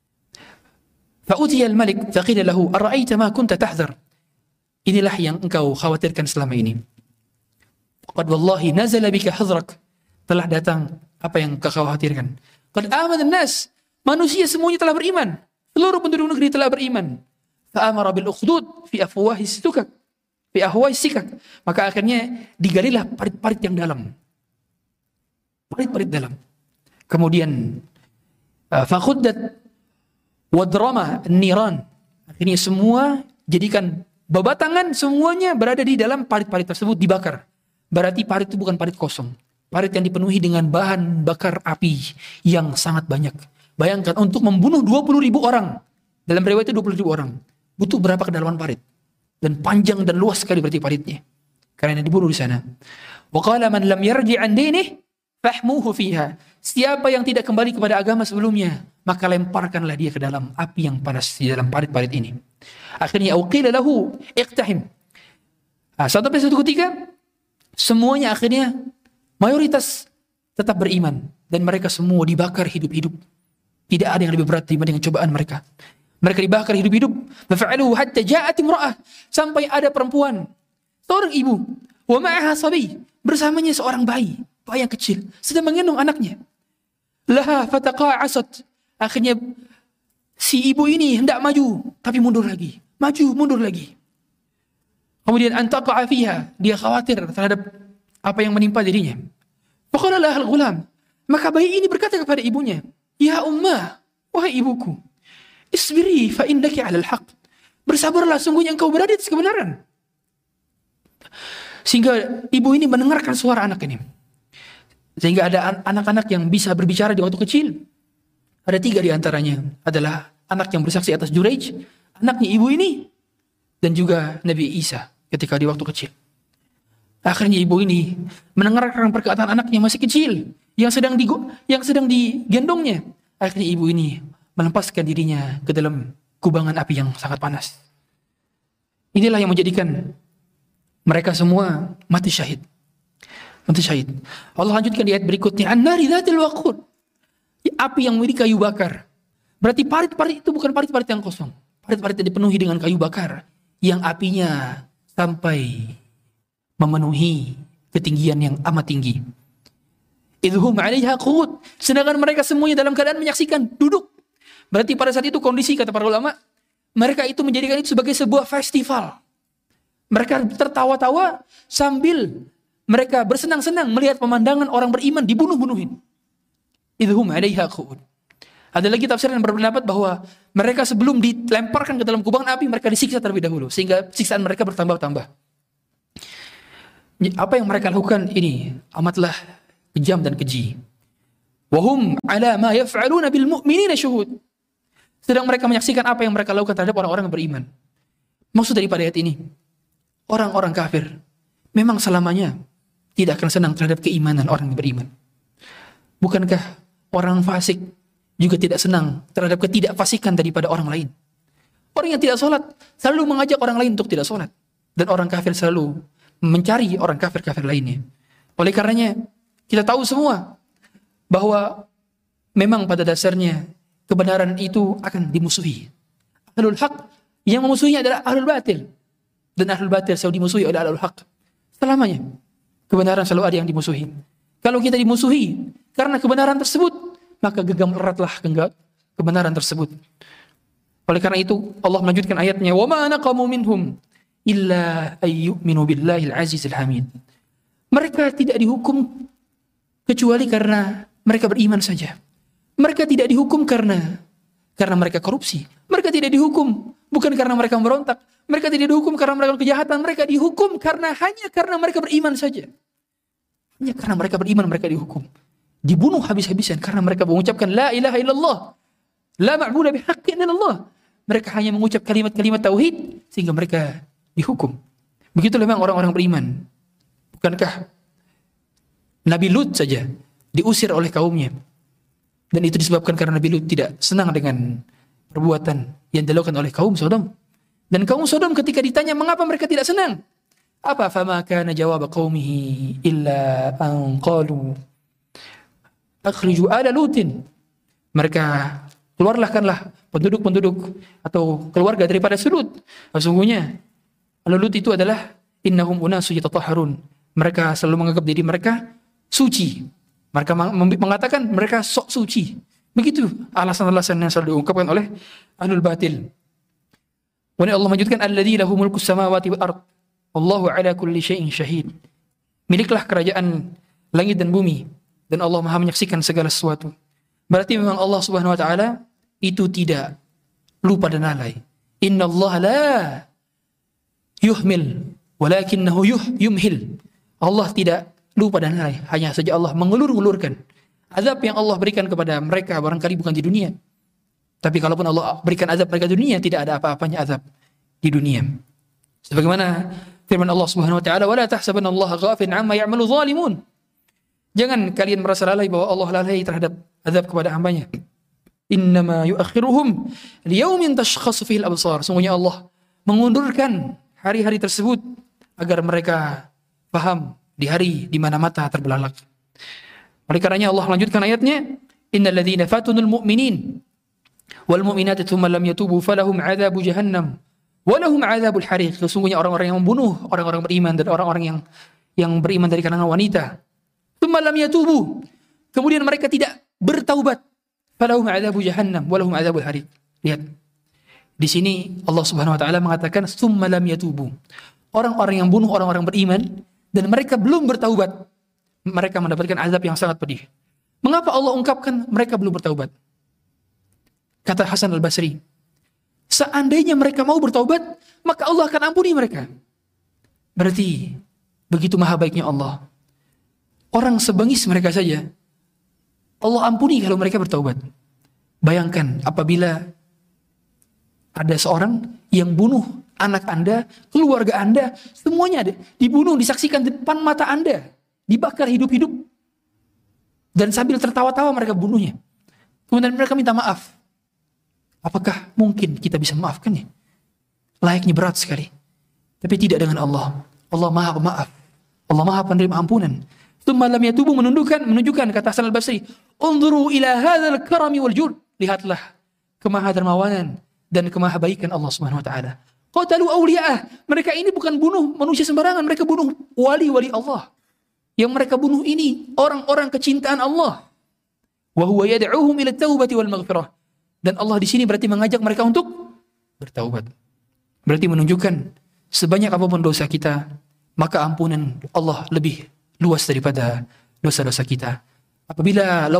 S2: Fa'utiya al-malik faqila lahu ara'aita ma kunta tahzar. Inilah yang engkau khawatirkan selama ini. Qad wallahi nazala bika hadrak. Telah datang apa yang kau khawatirkan. Qad amana an-nas. Manusia semuanya telah beriman. Seluruh penduduk negeri telah beriman. Fa'amara bil ukhdud fi afwahi sikak. Fi ahwai sikak. Maka akhirnya digalilah parit-parit yang dalam. Parit-parit dalam. Kemudian fakhuddat wadrama niran. Akhirnya semua jadikan babatangan semuanya berada di dalam parit-parit tersebut dibakar. Berarti parit itu bukan parit kosong. Parit yang dipenuhi dengan bahan bakar api yang sangat banyak. Bayangkan untuk membunuh 20.000 orang. Dalam riwayat itu 20.000 orang. Butuh berapa kedalaman parit. Dan panjang dan luas sekali berarti paritnya. Karena dibunuh di sana. Wa qala man lam yarji' an dinih fahmuhu fiha. Siapa yang tidak kembali kepada agama sebelumnya, maka lemparkanlah dia ke dalam api yang panas di dalam parit-parit ini. Akhirnya uqila lahu iqtahim. Sampai satu ketika semuanya akhirnya mayoritas tetap beriman dan mereka semua dibakar hidup-hidup. Tidak ada yang lebih berat dibanding cobaan mereka. Mereka dibakar hidup-hidup. Fa'aluhu hatta ja'at imra'ah, sampai ada perempuan, seorang ibu, wa ma'aha sabi, bersamanya seorang bayi yang kecil sedang menggendong anaknya. Laha fataqa'asat, akhirnya si ibu ini hendak maju tapi mundur lagi, maju mundur lagi. Kemudian antaqa'a fiha, dia khawatir terhadap apa yang menimpa dirinya. Faqala lahal ghulam, maka bayi ini berkata kepada ibunya, ya ummah, wahai ibuku, isbiri fa innaki 'alal haqq. Bersabarlah, sungguhnya engkau berada di atas kebenaran. Sehingga ibu ini mendengarkan suara anak ini. Sehingga ada anak-anak yang bisa berbicara di waktu kecil. Ada 3 di antaranya adalah anak yang bersaksi atas Juraij, anaknya ibu ini, dan juga Nabi Isa ketika di waktu kecil. Akhirnya ibu ini mendengarkan perkataan anaknya masih kecil yang sedang digendongnya. Akhirnya ibu ini melepaskan dirinya ke dalam kubangan api yang sangat panas. Inilah yang menjadikan mereka semua mati syahid. Mati syahid. Allah lanjutkan di ayat berikutnya, an-nari dzatil waqud. Api yang memiliki kayu bakar. Berarti parit-parit itu bukan parit-parit yang kosong. Parit-parit yang dipenuhi dengan kayu bakar yang apinya sampai memenuhi ketinggian yang amat tinggi. Idhum 'alaiha qu'ud. Sedangkan mereka semuanya dalam keadaan menyaksikan, duduk. Berarti pada saat itu kondisi, kata para ulama, mereka itu menjadikan itu sebagai sebuah festival. Mereka tertawa-tawa sambil mereka bersenang-senang melihat pemandangan orang beriman dibunuh-bunuhin. Idhum 'alaiha qu'ud. Ada lagi tafsir yang berpendapat bahwa mereka sebelum dilemparkan ke dalam kubangan api, mereka disiksa terlebih dahulu sehingga siksaan mereka bertambah-tambah. Apa yang mereka lakukan ini amatlah kejam dan keji. Wahum 'ala ma yaf'aluna bil mu'minina syuhud. Sedang mereka menyaksikan apa yang mereka lakukan terhadap orang-orang yang beriman. Maksud daripada ayat ini, orang-orang kafir memang selamanya tidak akan senang terhadap keimanan orang yang beriman. Bukankah orang fasik juga tidak senang terhadap ketidakfasikan daripada orang lain? Orang yang tidak sholat selalu mengajak orang lain untuk tidak sholat. Dan orang kafir selalu mencari orang kafir-kafir lainnya. Oleh karenanya, kita tahu semua bahwa memang pada dasarnya kebenaran itu akan dimusuhi. Ahlul haq yang memusuhinya adalah ahlul batil. Dan ahlul batil selalu dimusuhi oleh ahlul haq. Selamanya kebenaran selalu ada yang dimusuhi. Kalau kita dimusuhi, karena kebenaran tersebut, maka genggam eratlah kebenaran tersebut. Oleh karena itu Allah melanjutkan ayatnya, "Wa ma naqamu minhum illa ayyuminu billahil azizil hamid." Mereka tidak dihukum kecuali karena mereka beriman saja. Mereka tidak dihukum karena mereka korupsi. Mereka tidak dihukum bukan karena mereka memberontak. Mereka tidak dihukum karena mereka kejahatan. Mereka dihukum hanya karena mereka beriman saja. Hanya karena mereka beriman mereka dihukum. Dibunuh habis-habisan karena mereka mengucapkan la ilaha illallah, la ma'budu bihaqqin illallah. Mereka hanya mengucap kalimat-kalimat tauhid sehingga mereka dihukum. Begitulah memang orang-orang beriman. Bukankah Nabi Lut saja diusir oleh kaumnya? Dan itu disebabkan karena Nabi Lut tidak senang dengan perbuatan yang dilakukan oleh kaum Sodom. Dan kaum Sodom ketika ditanya mengapa mereka tidak senang, apa fama kana jawab qaumihi illa an qalu akhriju ala Lutin. Mereka keluarkanlah penduduk atau keluarga daripada Lut. Sesungguhnya Lut itu adalah innahum unasu yatatahharun. Mereka selalu menganggap diri mereka suci. Mereka mengatakan mereka sok suci. Begitu alasan-alasan yang selalu diungkapkan oleh ahlul batil. Kemudian Allah melanjutkan alladzi lahu mulkus samawati wal ard. Wallahu ala kulli syai'in syahid. Miliklah kerajaan langit dan bumi dan Allah Maha menyaksikan segala sesuatu. Berarti memang Allah Subhanahu wa taala itu tidak lupa dan lalai. Innallaha la yuhmil walakinnahu yumhil. Allah tidak lupa dan lalai, hanya saja Allah mengulur-ulurkan azab yang Allah berikan kepada mereka barangkali bukan di dunia. Tapi kalaupun Allah berikan azab mereka di dunia, tidak ada apa-apanya azab di dunia. Sebagaimana firman Allah Subhanahu wa taala, "Wala tahsabannallaha ghafilan 'amma ya'malu zalimun." Jangan kalian merasa lalai bahwa Allah lalai terhadap azab kepada hambanya. Innama yuakhiruhum liyaumin tashkhasu fihi al-absar. Sungguhnya Allah mengundurkan hari-hari tersebut agar mereka paham di hari di mana mata terbelalak. Oleh karenanya Allah lanjutkan ayatnya, innal ladzina fatunul mu'minin wal mu'minati tsumma lam yatubu falahum 'adzabu jahannam wa lahum 'adzabul hariq. Sesungguhnya orang-orang yang membunuh orang-orang beriman dan orang-orang yang beriman dari kalangan wanita, tsumma lam yatubu, kemudian mereka tidak bertaubat, falahum 'adzabu jahannam wa lahum 'adzabul hariq. Lihat. Di sini Allah Subhanahu wa taala mengatakan tsumma lam yatubu. Orang-orang yang bunuh orang-orang beriman dan mereka belum bertaubat, mereka mendapatkan azab yang sangat pedih. Mengapa Allah ungkapkan mereka belum bertaubat? Kata Hasan al-Basri, seandainya mereka mau bertaubat, maka Allah akan ampuni mereka. Berarti begitu maha baiknya Allah. Orang sebengis mereka saja Allah ampuni kalau mereka bertaubat. Bayangkan apabila ada seorang yang bunuh anak Anda, keluarga Anda, semuanya ada, dibunuh, disaksikan depan mata Anda, dibakar hidup-hidup, dan sambil tertawa-tawa mereka bunuhnya. Kemudian mereka minta maaf. Apakah mungkin kita bisa memaafkannya? Layaknya berat sekali. Tapi tidak dengan Allah. Allah Maha Pemaaf. Allah Maha Penerima ampunan. Tsumma lam yatubu menunjukkan kata Hasan al-Basri, "Unzuru ila hadzal karami wal jud." Lihatlah kemahadermawanan dan kemahabaikan Allah Subhanahu wa taala. Qatalu awliya'ah. Mereka ini bukan bunuh manusia sembarangan, mereka bunuh wali-wali Allah. Yang mereka bunuh ini orang-orang kecintaan Allah. Wa huwa yad'uhum ila at-taubati wal maghfirah. Dan Allah di sini berarti mengajak mereka untuk bertaubat. Berarti menunjukkan sebanyak apapun dosa kita, maka ampunan Allah lebih luas daripada dosa-dosa kita. Apabila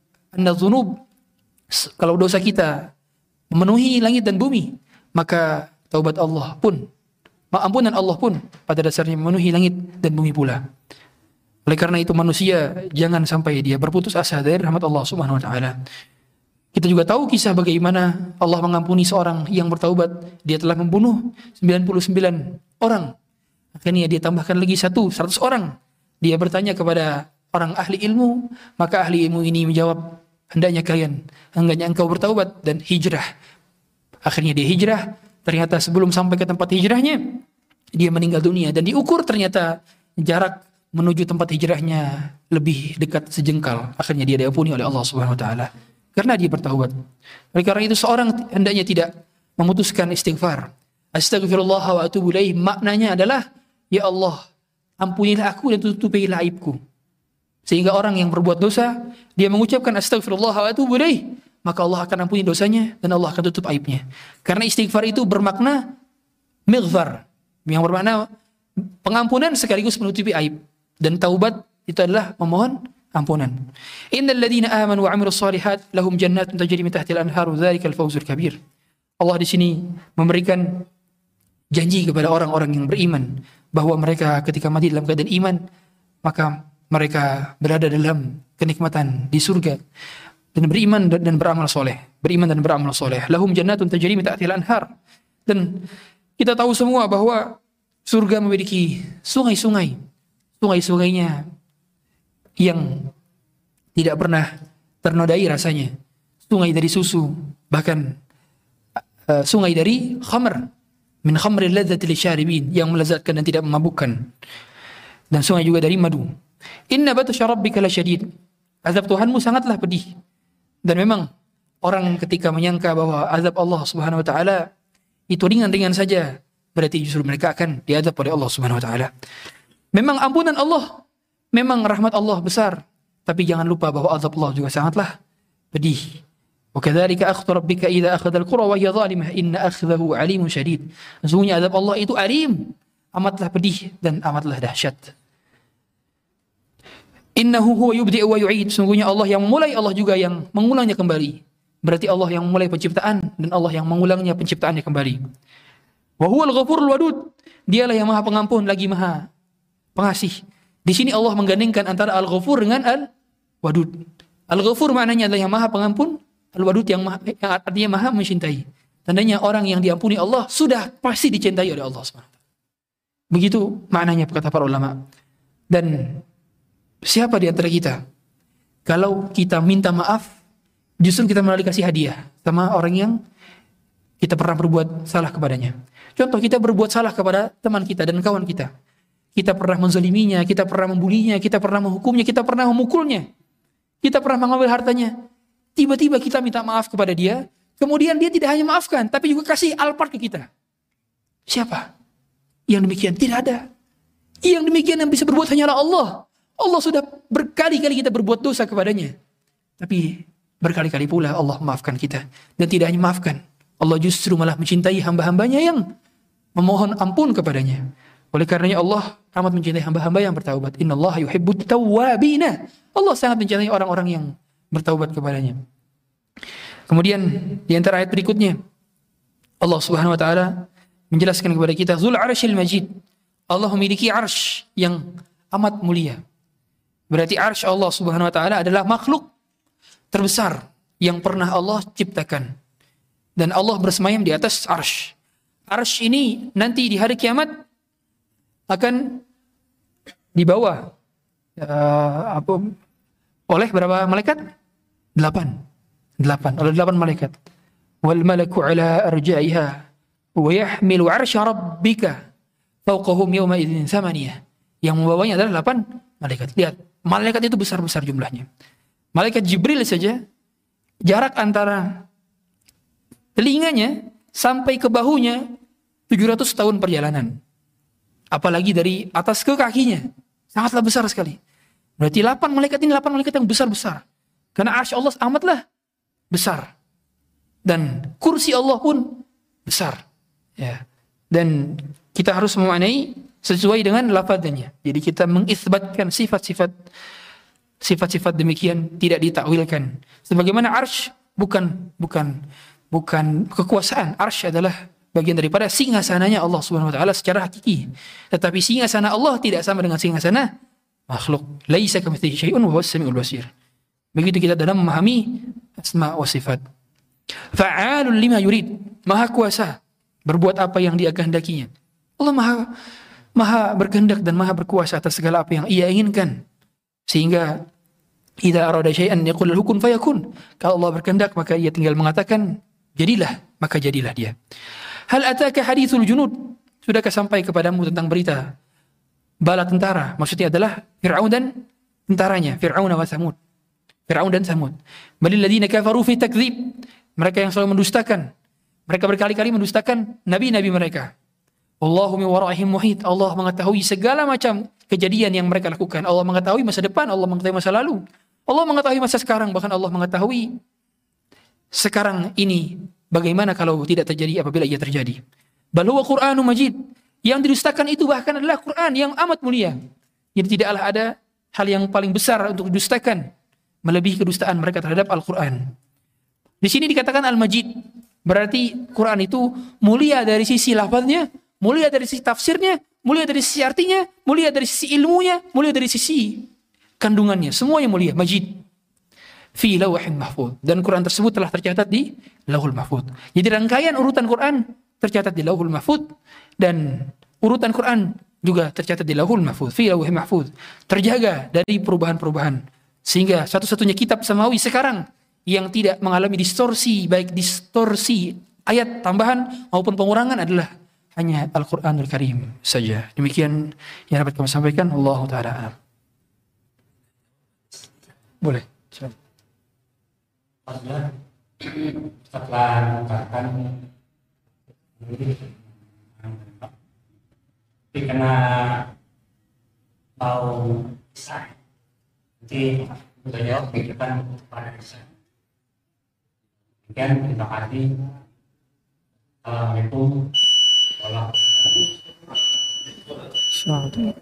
S2: kalau dosa kita memenuhi langit dan bumi, maka taubat Allah pun, ampunan Allah pun pada dasarnya memenuhi langit dan bumi pula. Oleh karena itu manusia jangan sampai dia berputus asa dari rahmat Allah Subhanahu wa taala. Kita juga tahu kisah bagaimana Allah mengampuni seorang yang bertaubat. Dia telah membunuh 99 orang. Akhirnya dia tambahkan lagi 100 orang. Dia bertanya kepada orang ahli ilmu, maka ahli ilmu ini menjawab, hendaknya engkau bertaubat dan hijrah. Akhirnya dia hijrah. Ternyata sebelum sampai ke tempat hijrahnya, dia meninggal dunia. Dan diukur ternyata jarak menuju tempat hijrahnya lebih dekat sejengkal. Akhirnya dia diampuni oleh Allah Subhanahu wa taala karena dia bertaubat. Oleh karena itu seorang hendaknya tidak memutuskan istighfar. Astaghfirullah wa atubu ilaih, maknanya adalah, ya Allah, ampunilah aku dan tutupilah aibku. Sehingga orang yang berbuat dosa, dia mengucapkan astagfirullah wa atubu ilaih, maka Allah akan ampuni dosanya dan Allah akan tutup aibnya. Karena istighfar itu bermakna mighfar, yang bermakna pengampunan sekaligus menutupi aib. Dan taubat itu adalah memohon ampunan. Innal ladzina amanu wa 'amilus shalihat lahum jannatun tajri min tahtiha al-anharu dzalikal fawzul kabir. Allah di sini memberikan janji kepada orang-orang yang beriman bahwa mereka ketika mati dalam keadaan iman, maka mereka berada dalam kenikmatan di surga dan beriman dan beramal soleh. Beriman dan beramal soleh. Lahum jannatun tajri min tahtiha al-anhar. Dan kita tahu semua bahwa surga memiliki sungai-sungai. Sungai-sungainya yang tidak pernah ternodai rasanya. Sungai dari susu, bahkan sungai dari khamr, min khamril ladzati lisyaribin, yang melezatkan dan tidak memabukkan. Dan sungai juga dari madu. Inna batsya rabbika lasyadid. Azab Tuhanmu sangatlah pedih. Dan memang orang ketika menyangka bahwa azab Allah Subhanahu wa taala itu ringan-ringan saja, berarti justru mereka akan diazab oleh Allah Subhanahu wa taala. Memang ampunan Allah, memang rahmat Allah besar, tapi jangan lupa bahwa azab Allah juga sangatlah pedih. Wa kadzalika akhdhu rabbika idza akhadha al-qura wa hiya zalimah inna akhdahu alimun syadid. Sesungguhnya azab Allah itu alim, amatlah pedih dan amatlah dahsyat. Innahu huwa yubdi'u wa yu'id. Sesungguhnya Allah yang memulai, Allah juga yang mengulangnya kembali. Berarti Allah yang memulai penciptaan dan Allah yang mengulangnya penciptaannya kembali. Wa huwal ghafurul wadud. Dialah yang Maha Pengampun lagi Maha Pengasih. Di sini Allah menggandengkan antara Al-Ghafur dengan Al-Wadud. Al-Ghafur maknanya adalah yang Maha Pengampun, Al-Wadud yang artinya Maha mencintai. Tandanya orang yang diampuni Allah sudah pasti dicintai oleh Allah SWT. Begitu maknanya kata para ulama. Dan siapa di antara kita kalau kita minta maaf justru kita malah dikasih hadiah sama orang yang kita pernah berbuat salah kepadanya. Contoh, kita berbuat salah kepada teman kita dan kawan kita. Kita pernah menzaliminya, kita pernah membulinya, kita pernah menghukumnya, kita pernah memukulnya, kita pernah mengambil hartanya. Tiba-tiba kita minta maaf kepada dia, kemudian dia tidak hanya maafkan, tapi juga kasih alpart ke kita. Siapa yang demikian? Tidak ada. Yang demikian yang bisa berbuat hanyalah Allah. Allah sudah berkali-kali kita berbuat dosa kepadanya, tapi berkali-kali pula Allah maafkan kita. Dan tidak hanya maafkan, Allah justru malah mencintai hamba-hambanya yang memohon ampun kepadanya. Oleh karenanya Allah amat mencintai hamba-hamba yang bertaubat. Innallaha yuhibbut tawwabina. Allah sangat mencintai orang-orang yang bertaubat kepadanya. Kemudian di antara ayat berikutnya Allah Subhanahu wa taala menjelaskan kepada kita Dzul Arsyil Majid. Allah memiliki arsy yang amat mulia. Berarti arsy Allah Subhanahu wa taala adalah makhluk terbesar yang pernah Allah ciptakan. Dan Allah bersemayam di atas arsy. Arsy ini nanti di hari kiamat akan dibawa oleh berapa malaikat? 8 oleh 8 malaikat. Wal malaku ala arja'iha wa yahmilu 'arsya rabbika fawqahum yawma idzin thamaniyah. Yang membawanya adalah 8 malaikat. Lihat, malaikat itu besar-besar jumlahnya. Malaikat Jibril saja jarak antara telinganya sampai ke bahunya 700 tahun perjalanan. Apalagi dari atas ke kakinya. Sangatlah besar sekali. Berarti 8 malaikat ini 8 malaikat yang besar-besar. Karena arsy Allah amatlah besar. Dan kursi Allah pun besar. Ya. Dan kita harus memaknai sesuai dengan lafadznya. Jadi kita mengisbatkan sifat-sifat demikian tidak ditakwilkan. Sebagaimana arsy bukan kekuasaan. Arsy adalah bagian daripada singgasananya Allah Subhanahu wa taala secara hakiki. Tetapi singgasana Allah tidak sama dengan singgasana makhluk. Laisa kamitslihi syai'un wa huwas samiul basir. Begitu kita dalam memahami asma wa sifat. Fa'alul lima yurid. Maha kuasa berbuat apa yang Dia kehendakinya. Allah maha berkehendak dan maha berkuasa atas segala apa yang Ia inginkan. Sehingga idza arada syai'an yaqul lahu kun fayakun. Kalau Allah berkehendak maka Ia tinggal mengatakan jadilah, maka jadilah dia. Hal ataka hadithul junud. Sudahkah sampai kepadamu tentang berita bala tentara? Maksudnya adalah Fir'aun dan tentaranya, Fir'aun wa Tsamud. Fir'aun dan Tsamud. Balil ladzina kafaru fi takdzib. Mereka yang selalu mendustakan. Mereka berkali-kali mendustakan nabi-nabi mereka. Wallahu min waraihim muhit. Allah mengetahui segala macam kejadian yang mereka lakukan. Allah mengetahui masa depan, Allah mengetahui masa lalu. Allah mengetahui masa sekarang, bahkan Allah mengetahui sekarang ini bagaimana kalau tidak terjadi apabila ia terjadi. Bal huwa Qur'anun Majid. Yang didustakan itu bahkan adalah Quran yang amat mulia. Jadi tidaklah ada hal yang paling besar untuk didustakan melebihi kedustaan mereka terhadap Al-Quran. Di sini dikatakan Al-Majid. Berarti Quran itu mulia dari sisi lafaznya, mulia dari sisi tafsirnya, mulia dari sisi artinya, mulia dari sisi ilmunya, mulia dari sisi kandungannya. Semuanya mulia, Majid. Fi lawhin mahfuz. Dan Quran tersebut telah tercatat di Lauhul Mahfuz. Jadi rangkaian urutan Quran tercatat di Lauhul Mahfuz, dan urutan Quran juga tercatat di Lauhul Mahfuz, fi lawhin mahfuz. Terjaga dari perubahan-perubahan. Sehingga satu-satunya kitab samawi sekarang yang tidak mengalami distorsi, baik distorsi ayat tambahan maupun pengurangan, adalah hanya Al-Quranul Karim saja. Demikian yang dapat kami sampaikan. Allahu ta'ala a'lam. Boleh.
S1: Setelah mengungkapkan tapi kena mau bisa nanti beliau pikirkan pada bisa. Demikian, terima kasih. Assalamualaikum warahmatullahi wabarakatuh.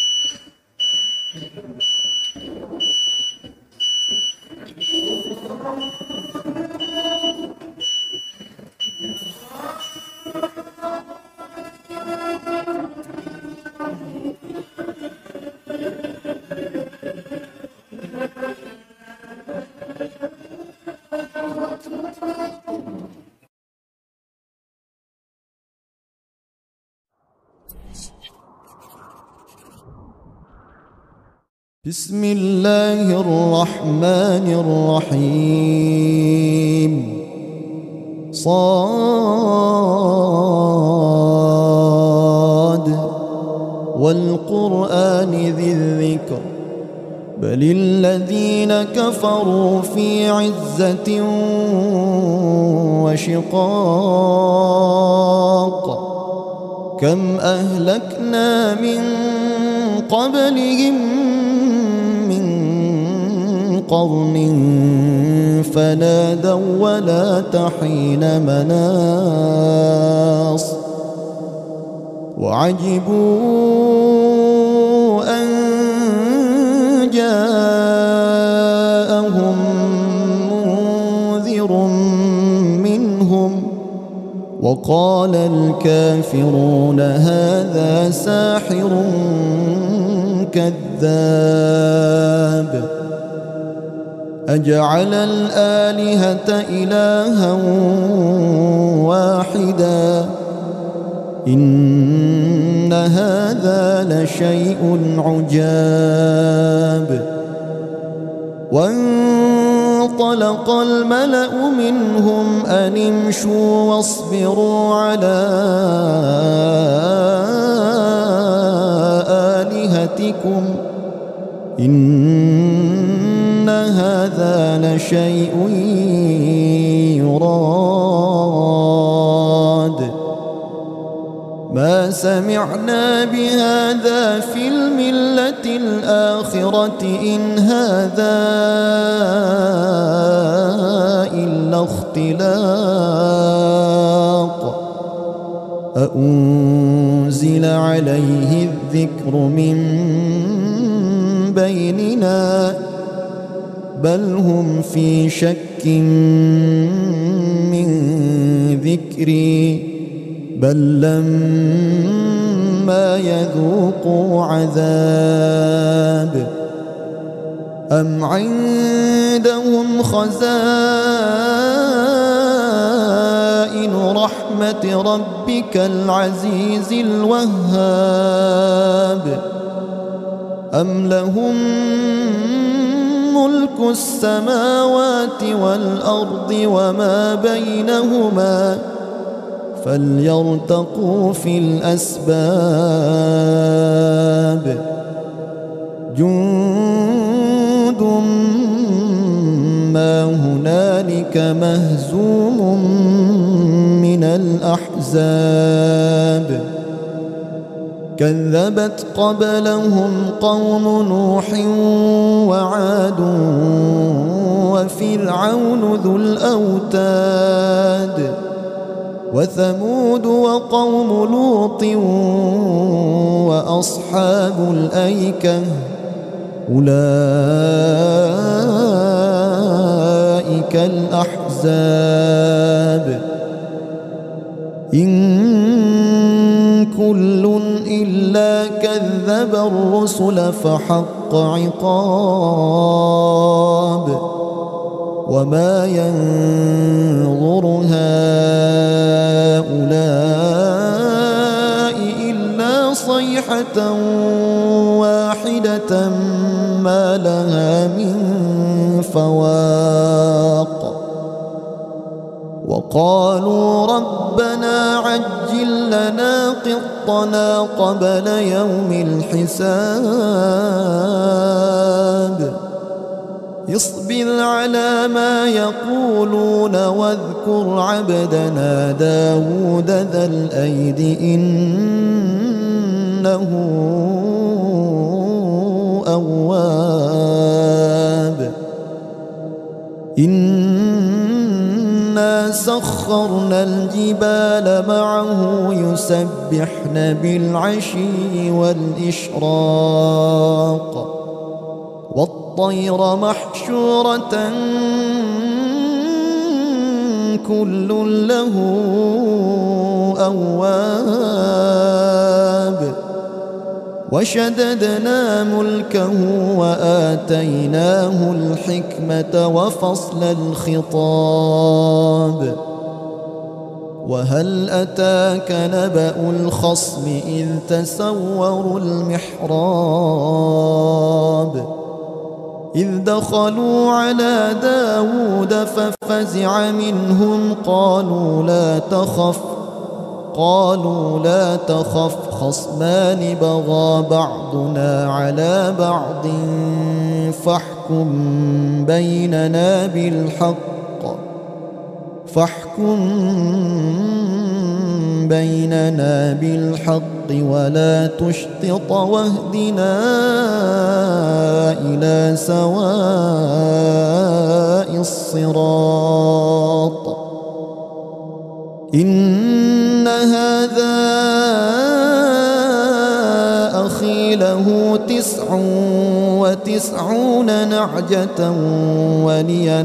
S3: بسم الله الرحمن الرحيم صاد والقرآن ذي الذكر بل الذين كفروا في عزة وشقاق كم أهلكنا من قبلهم قرن فنادوا ولا تحين مناص وعجبوا أن جاءهم منذر منهم وقال الكافرون هذا ساحر كذاب أجعل الآلهة إلها واحدا إن هذا لشيء عجاب وانطلق الملأ منهم أن امشوا واصبروا على آلهتكم إن هذا لشيء يراد ما سمعنا بهذا في الملة الآخرة إن هذا إلا اختلاق أأنزل عليه الذكر من بيننا بل هم في شك من ذكري بل لما يذوقوا عذاب أم عندهم خزائن رحمة ربك العزيز الوهاب أم لهم ملك السماوات والأرض وما بينهما فليرتقوا في الأسباب جند ما هنالك مهزوم من الأحزاب كذبت قبلهم قوم نوح وعاد وفرعون ذو الأوتاد وثمود وقوم لوط وأصحاب الأيكة أولئك الأحزاب إن كل إلا كذب الرسل فحق عقاب وما ينظر هؤلاء إلا صيحة واحدة ما لها من فواق وقالوا ربنا عجل لنا قطنا قبل يوم الحساب اصبر على ما يقولون واذكر عبدنا داود ذا الأيد إنه أواب إنا سخرنا الجبال معه يسبحن بالعشي والإشراق والطير محشورة كل له أواب وشددنا ملكه وآتيناه الحكمة وفصل الخطاب وهل أتاك نبأ الخصم إذ تسوروا المحراب إذ دخلوا على داود ففزع منهم قالوا لا تخف خصمان بغى بعضنا على بعض فاحكم بيننا بالحق ولا تشطط واهدنا إلى سواء الصراط إن هذا أخي له 99 نعجة ولي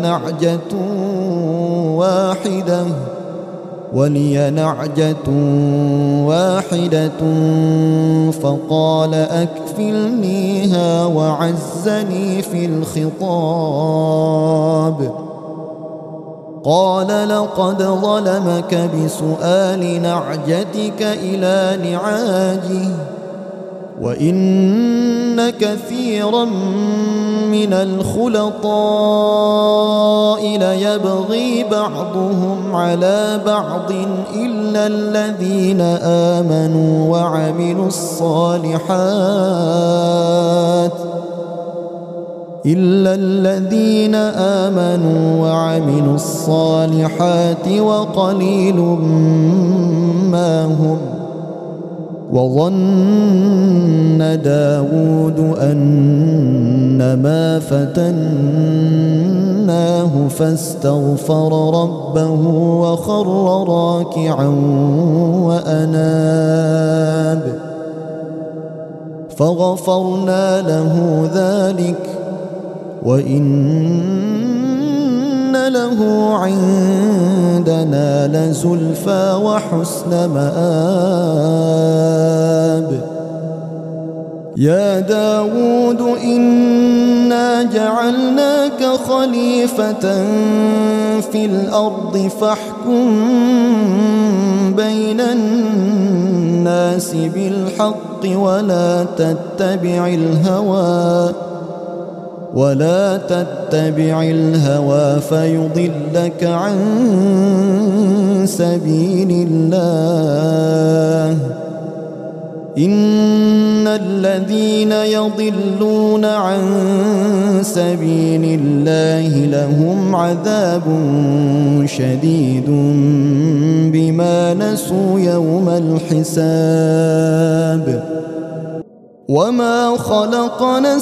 S3: نعجة واحدة فقال أكفلنيها وعزني في الخطاب قال لقد ظلمك بسؤال نعجتك إلى نعاجه وإن كثيرا من الخلطاء ليبغي بعضهم على بعض إلا الذين آمنوا وعملوا الصالحات وقليل ما هم وظن داود أنما فتناه فاستغفر ربه وخر راكعا وأناب فغفرنا له ذلك وإن له عندنا لزلفى وحسن مآب يا داود إنا جعلناك خليفة في الأرض فاحكم بين الناس بالحق ولا تتبع الهوى فيضلك عن سبيل الله إن الذين يضلون عن سبيل الله لهم عذاب شديد بما نسوا يوم الحساب وما خلقنا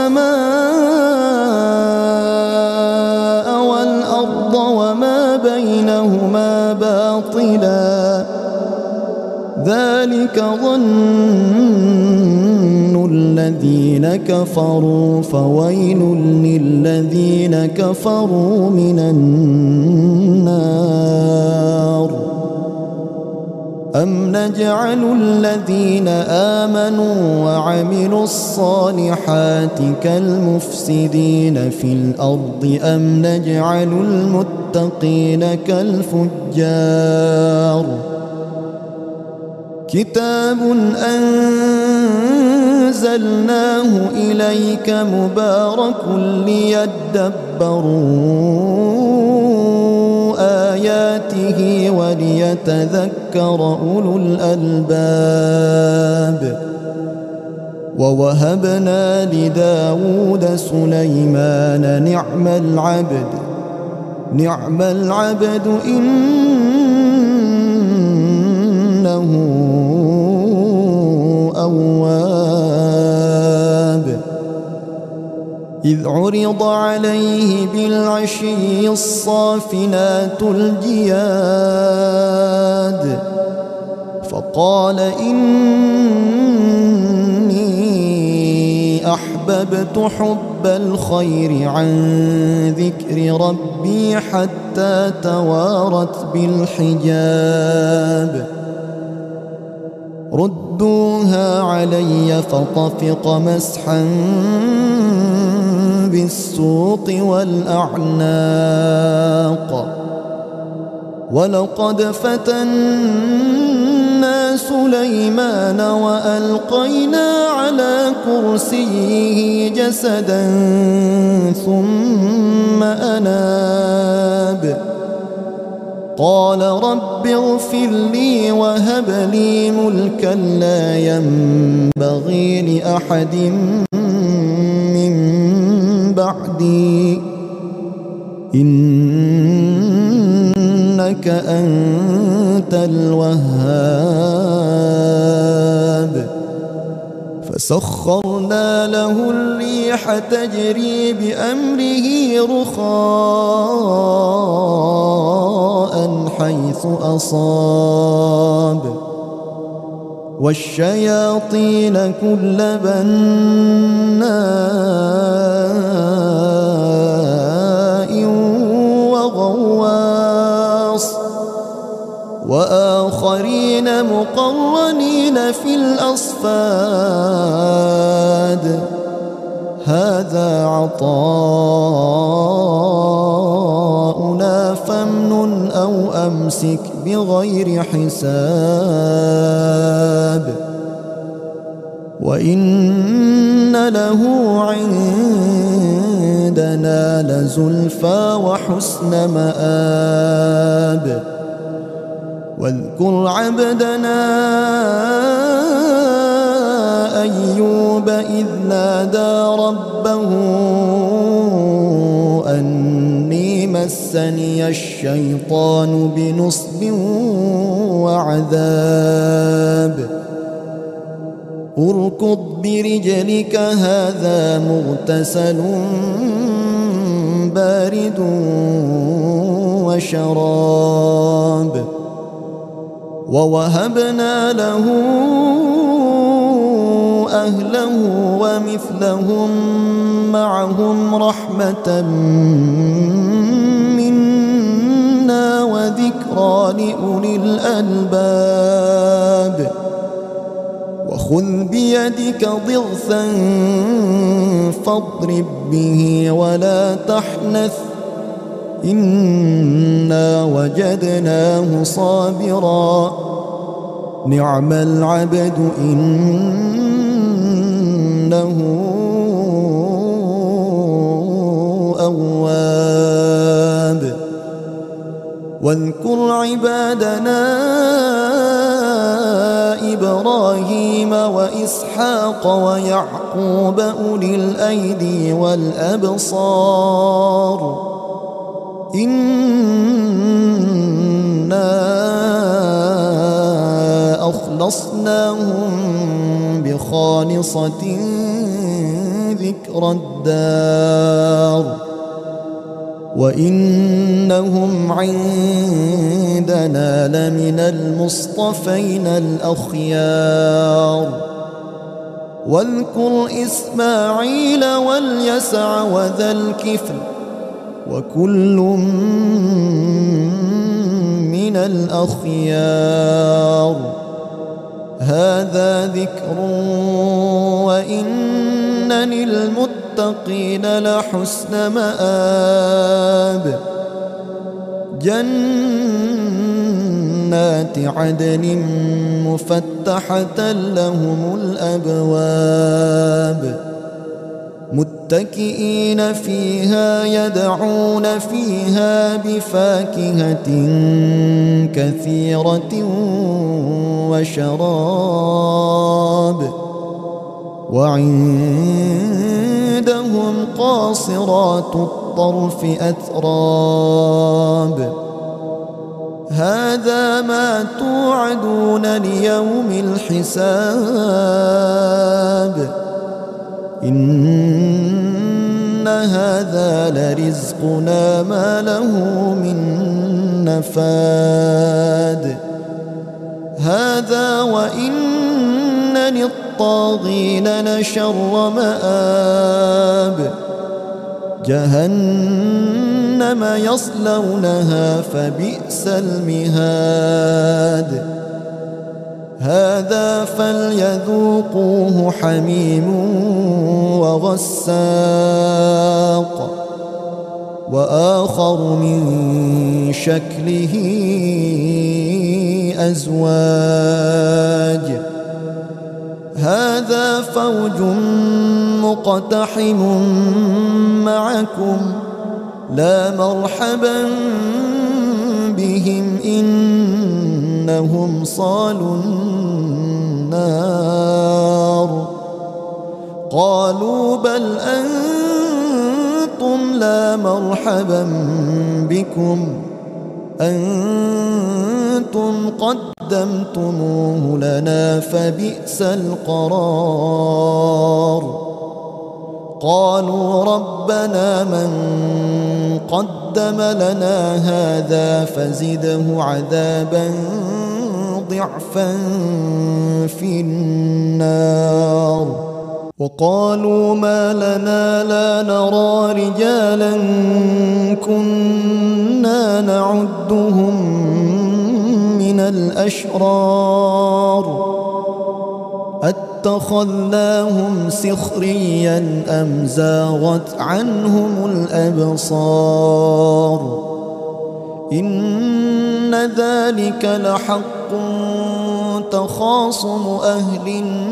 S3: السماء والأرض وما بينهما باطلا ذلك ظن الذين كفروا فويل للذين كفروا من النار أم نجعل الذين آمنوا وعملوا الصالحات كالمفسدين في الأرض أم نجعل المتقين كالفجار كتاب أنزلناه إليك مبارك ليدبروا آياته وليتذكر أولو الألباب ووهبنا لداود سليمان نعم العبد إنه أواب إذ عرض عليه بالعشي الصافنات الجياد فقال إني أحببت حب الخير عن ذكر ربي حتى توارت بالحجاب ردوها علي فطفق مسحا بالسوق والأعناق ولقد فتنا سليمان وألقينا على كرسيه جسدا ثم أناب قال رب اغفر لي وهب لي ملكا لا ينبغي لأحد من بعدي إنك أنت الوهاب فسخرنا له الريح تجري بأمره رخاء حيث أصاب والشياطين كل بناء وغواص وآخرين مقرنين في الأصفاد هذا عطاؤنا فامنن أو أمسك بغير حساب وإن له عندنا لزلفى وحسن مآب واذكر عبدنا أيوب إذ نادى ربه أني مسني الشيطان بنصب وعذاب اركض برجلك هذا مغتسل بارد وشراب ووهبنا له أهله ومثلهم معهم رحمة منا وذكرى لأولي الألباب وخذ بيدك ضغثا فاضرب به ولا تحنث إنا وجدناه صابرا نعم العبد إنه أواب واذكر عبادنا إبراهيم وإسحاق ويعقوب أولي الأيدي والأبصار إنا أخلصناهم خالصة ذكرى الدار وإنهم عندنا لمن المصطفين الأخيار واذكر إسماعيل واليسع وذا الكفل وكل من الأخيار هذا ذكر وإن للمتقين لحسن مآب جنات عدن مفتحة لهم الأبواب متكئين فيها يدعون فيها بفاكهة كثيرة وشراب وعندهم قاصرات الطرف أتراب هذا ما توعدون ليوم الحساب إن هذا لرزقنا ما له من نفاد هذا وإن للطاغين لشر مآب جهنم يصلونها فبئس المهاد هذا فليذوقوه حميم وغساق وآخر من شكله أزواج هذا فوج مقتحم معكم لا مرحبا بهم إنهم صالوا النار قالوا بل أنتم لا مرحبا بكم أنتم قدمتموه لنا فبئس القرار قالوا ربنا من قدم لنا هذا فزده عذابا ضعفا في النار وقالوا ما لنا لا نرى رجالا كنا نعدهم من الأشرار اتخذناهم سخريا أم زاغت عنهم الأبصار إن ذلك لحق تخاصم أهل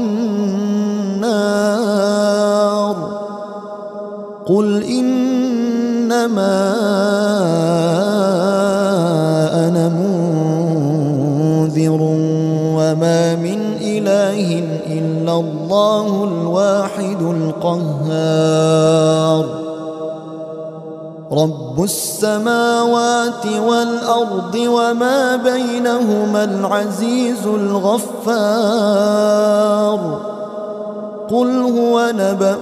S3: النار قل إنما أنا منذر وما من إله إلا الله الواحد القهار رب السماوات والأرض وما بينهما العزيز الغفار قل هو نبأ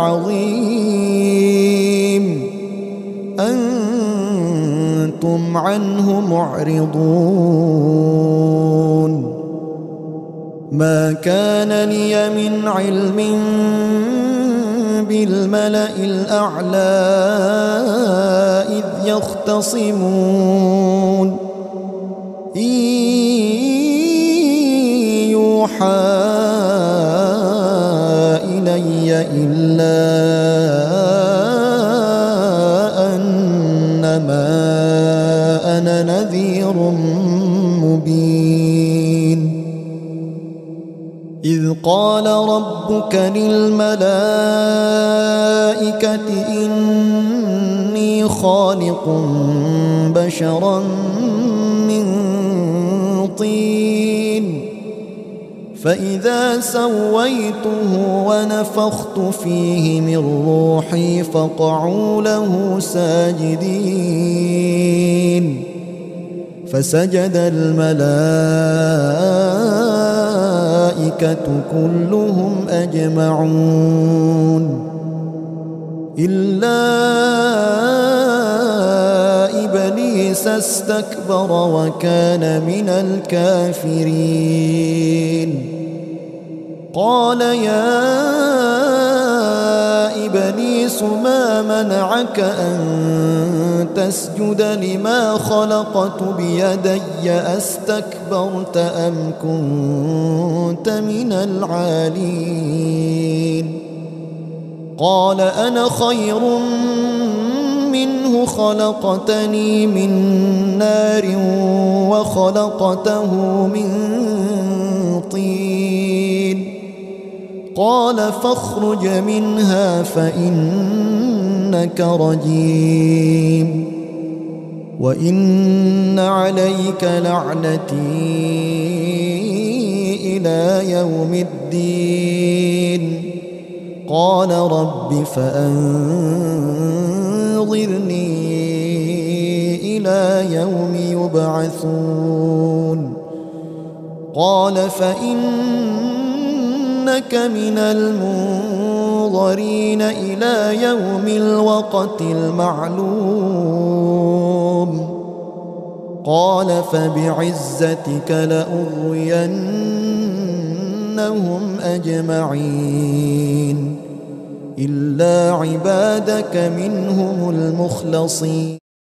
S3: عظيم أنتم عنه معرضون ما كان لي من علم بالملأ الأعلى إذ يختصمون إن يوحى إلي إلا أنما أنا نذير مبين إذ قال ربك للملائكة إني خالق بشرا من طين فإذا سويته ونفخت فيه من روحي فقعوا له ساجدين فسجد الملائكة والملائكة كلهم أجمعون إلا إبليس استكبر وكان من الكافرين قال يا إبليس ما منعك أن تسجد لما خلقت بيدي أستكبرت أم كنت من العالين قال أنا خير منه خلقتني من نار وخلقته من طين قال فاخرج منها فإنك رجيم وإن عليك لعنتي إلى يوم الدين قال رب فأنظرني إلى يوم يبعثون قال فإنك من المنظرين إلى يوم الوقت المعلوم قال فبعزتك لأغوينهم أجمعين إلا عبادك منهم المخلصين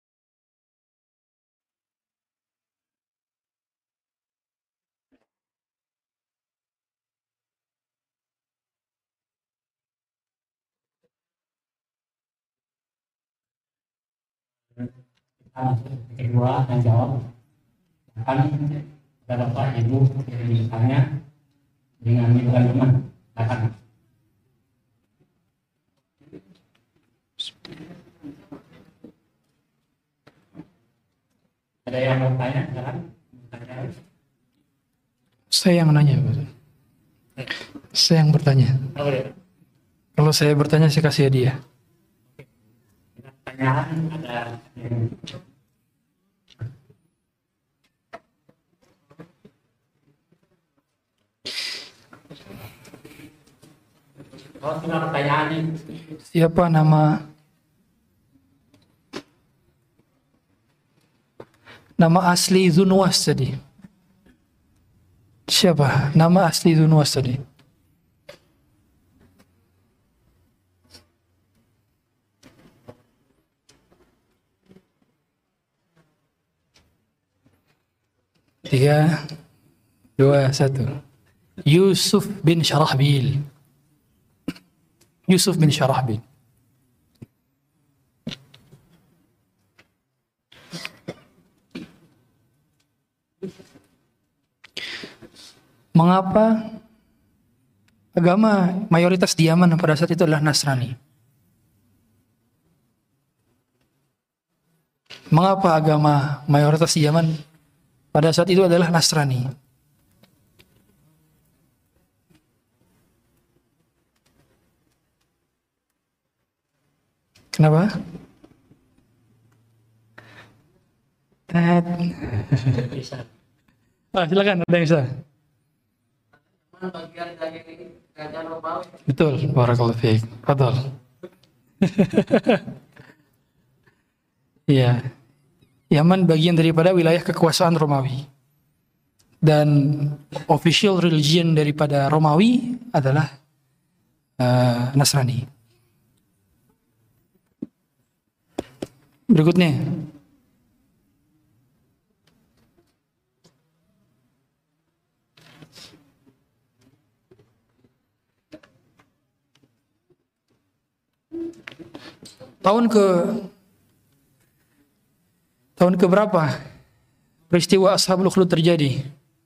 S1: Kedua dan jawab akan ada bapak ibu yang ditanya dengan bukan teman akan ada yang mau tanya kan?
S2: Saya yang nanya, saya yang bertanya. Kalau saya bertanya, saya kasih hadiah.
S1: Pertanyaan ada yang oh, pertanyaan ini.
S2: Siapa nama asli Dzunwas tadi? Siapa nama asli Dzunwas tadi? Tiga, dua, satu. Yusuf bin Syarahbil. Yusuf bin Syarahbil. Mengapa agama mayoritas di Yaman pada saat itu adalah Nasrani? Mengapa agama mayoritas di Yaman pada saat itu adalah Nasrani? Kenapa? Silakan, ada yang bisa.
S4: Bagian dari kerajaan Romawi.
S2: Betul, barakallahu fiik. Fadhal. Iya. Yaman bagian daripada wilayah kekuasaan Romawi. Dan official religion daripada Romawi adalah Nasrani. Berikutnya. Tahun ke berapa peristiwa Ashabul Ukhdud terjadi?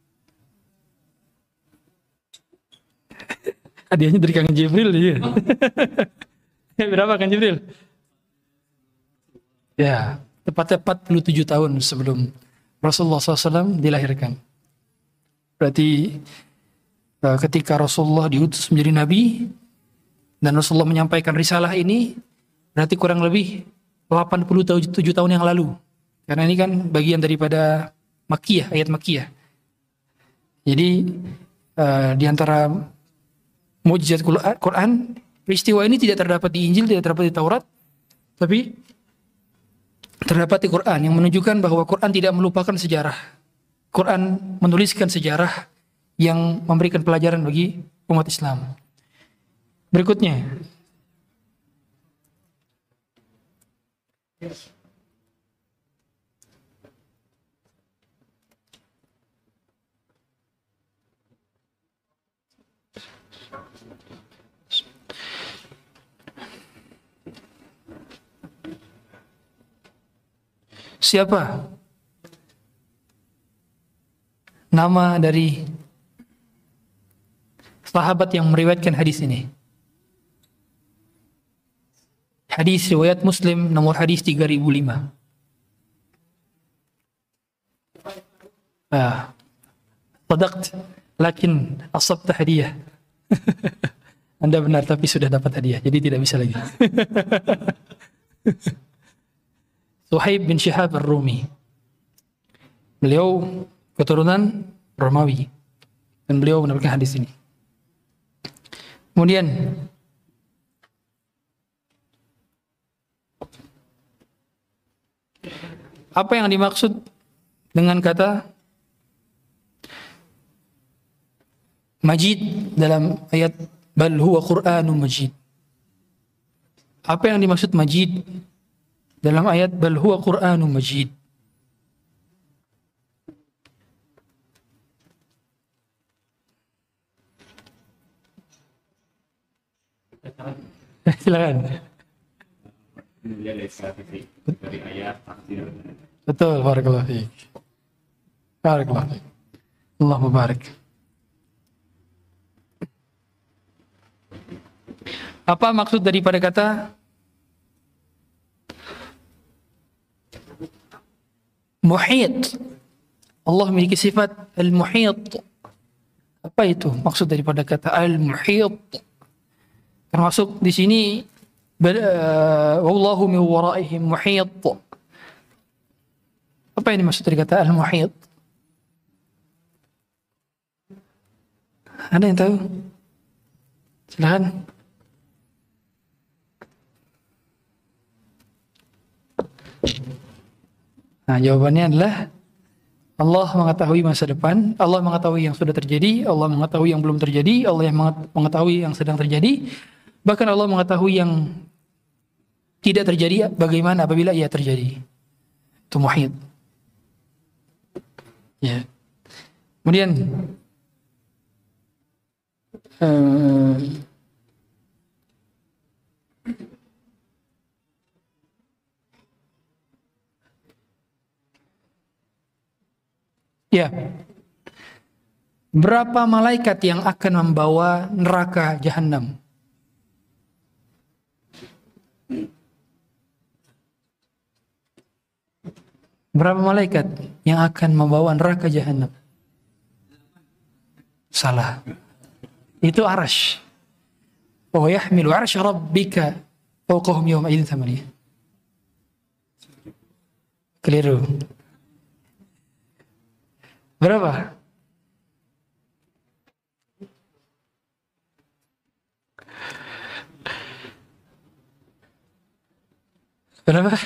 S2: Hadiahnya dari Kang Jibril ya. Berapa Kang Jibril? Ya, tepatnya 47 tahun sebelum Rasulullah SAW dilahirkan. Berarti ketika Rasulullah diutus menjadi nabi dan Rasulullah menyampaikan risalah ini, berarti kurang lebih 87 tahun yang lalu. Karena ini kan bagian daripada Makkiyah, ayat Makkiyah. Jadi di antara mukjizat Quran, peristiwa ini tidak terdapat di Injil, tidak terdapat di Taurat, tapi terdapat di Quran yang menunjukkan bahwa Quran tidak melupakan sejarah. Quran menuliskan sejarah yang memberikan pelajaran bagi umat Islam. Berikutnya, siapa nama dari sahabat yang meriwayatkan hadis ini? Hadis riwayat Muslim nomor hadis 3005. Sadaqt, lakin asabta hadiah. Anda benar tapi sudah dapat hadiah, jadi tidak bisa lagi. Suhaib bin Syihab Ar-Rumi. Beliau keturunan Romawi dan beliau mendapatkan hadis ini. Kemudian apa yang dimaksud dengan kata majid dalam ayat bal huwa Qur'anun majid? Apa yang dimaksud majid dalam ayat bal huwa Qur'anun majid? Silakan.
S1: Dari ayat tafsir.
S2: Betul, barakallahu fiik. Barakallahu fiik. Allah mubarak. Apa maksud daripada kata muhit? Allah memiliki sifat al-muhit. Apa itu maksud daripada kata al-muhit? Termasuk di sini wallahu min waraihim muhit. Apa yang dimaksud dari kata al-muhit? Ada yang tahu? Silakan. Nah, jawabannya adalah Allah mengetahui masa depan, Allah mengetahui yang sudah terjadi, Allah mengetahui yang belum terjadi, Allah yang mengetahui yang sedang terjadi, bahkan Allah mengetahui yang tidak terjadi bagaimana apabila ia terjadi. Itu muhit. Ya. Kemudian ya, berapa malaikat yang akan membawa neraka jahanam? Berapa malaikat yang akan membawa neraka jahanam? Salah. Itu arash. Wa yahmilu arsy rabbika fawqahum yawma idzin thamaniyah. Keliru. Berapa? Berapa?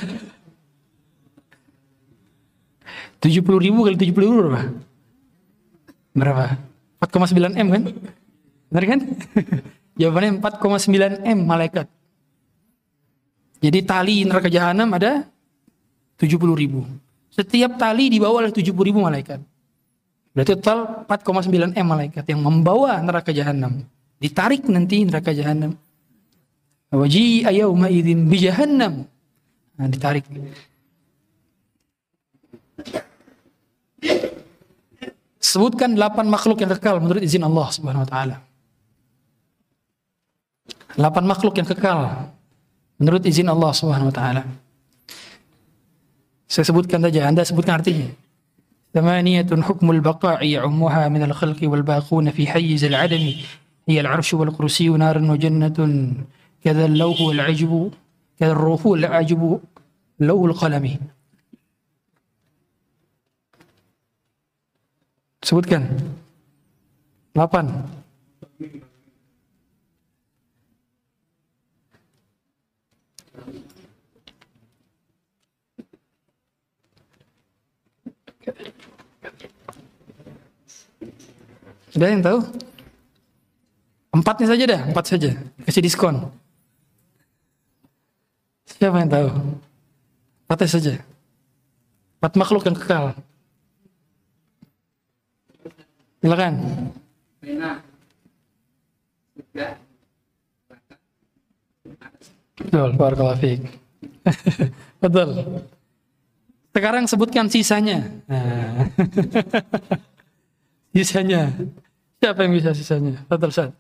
S2: 70.000 kali 70.000 berapa? Berapa? 4,9 M kan? Benar kan? Jawabannya 4,9 M malaikat. Jadi tali neraka jahanam ada 70.000. Setiap tali dibawa oleh 70.000 malaikat. Berarti total 4,9 M malaikat yang membawa neraka jahanam. Ditarik nanti neraka jahanam. Waji'a yawma idzin bi jahannam. Nah, ditarik. Sebutkan 8 makhluk yang kekal menurut izin Allah Subhanahu wa taala. 8 makhluk yang kekal menurut izin Allah Subhanahu wa taala. Saya sebutkan saja, Anda sebutkan artinya. Thamaniyatun hukmul baqa'i ya'ummuha min al-khalqi wal baquna fi hayyiz al-'adami hiya al-'arsyu wal kursiyyu narun wa jannatun kadha al-lawhu wal 'ajbu kadha ar-ruhu wal 'ajbu lawhul qalami. Sebutkan. 8. Ada yang tahu? 4-nya saja dah, 4 saja. Kasih diskon. Siapa yang tahu? 4 saja. 4 makhluk yang kekal. Silakan.
S4: Pena. Sudah.
S2: Betul, barakallahu fiik. Betul. Sekarang sebutkan sisanya. Nah. Sisanya. Siapa yang bisa sisanya? Betul, Ustaz.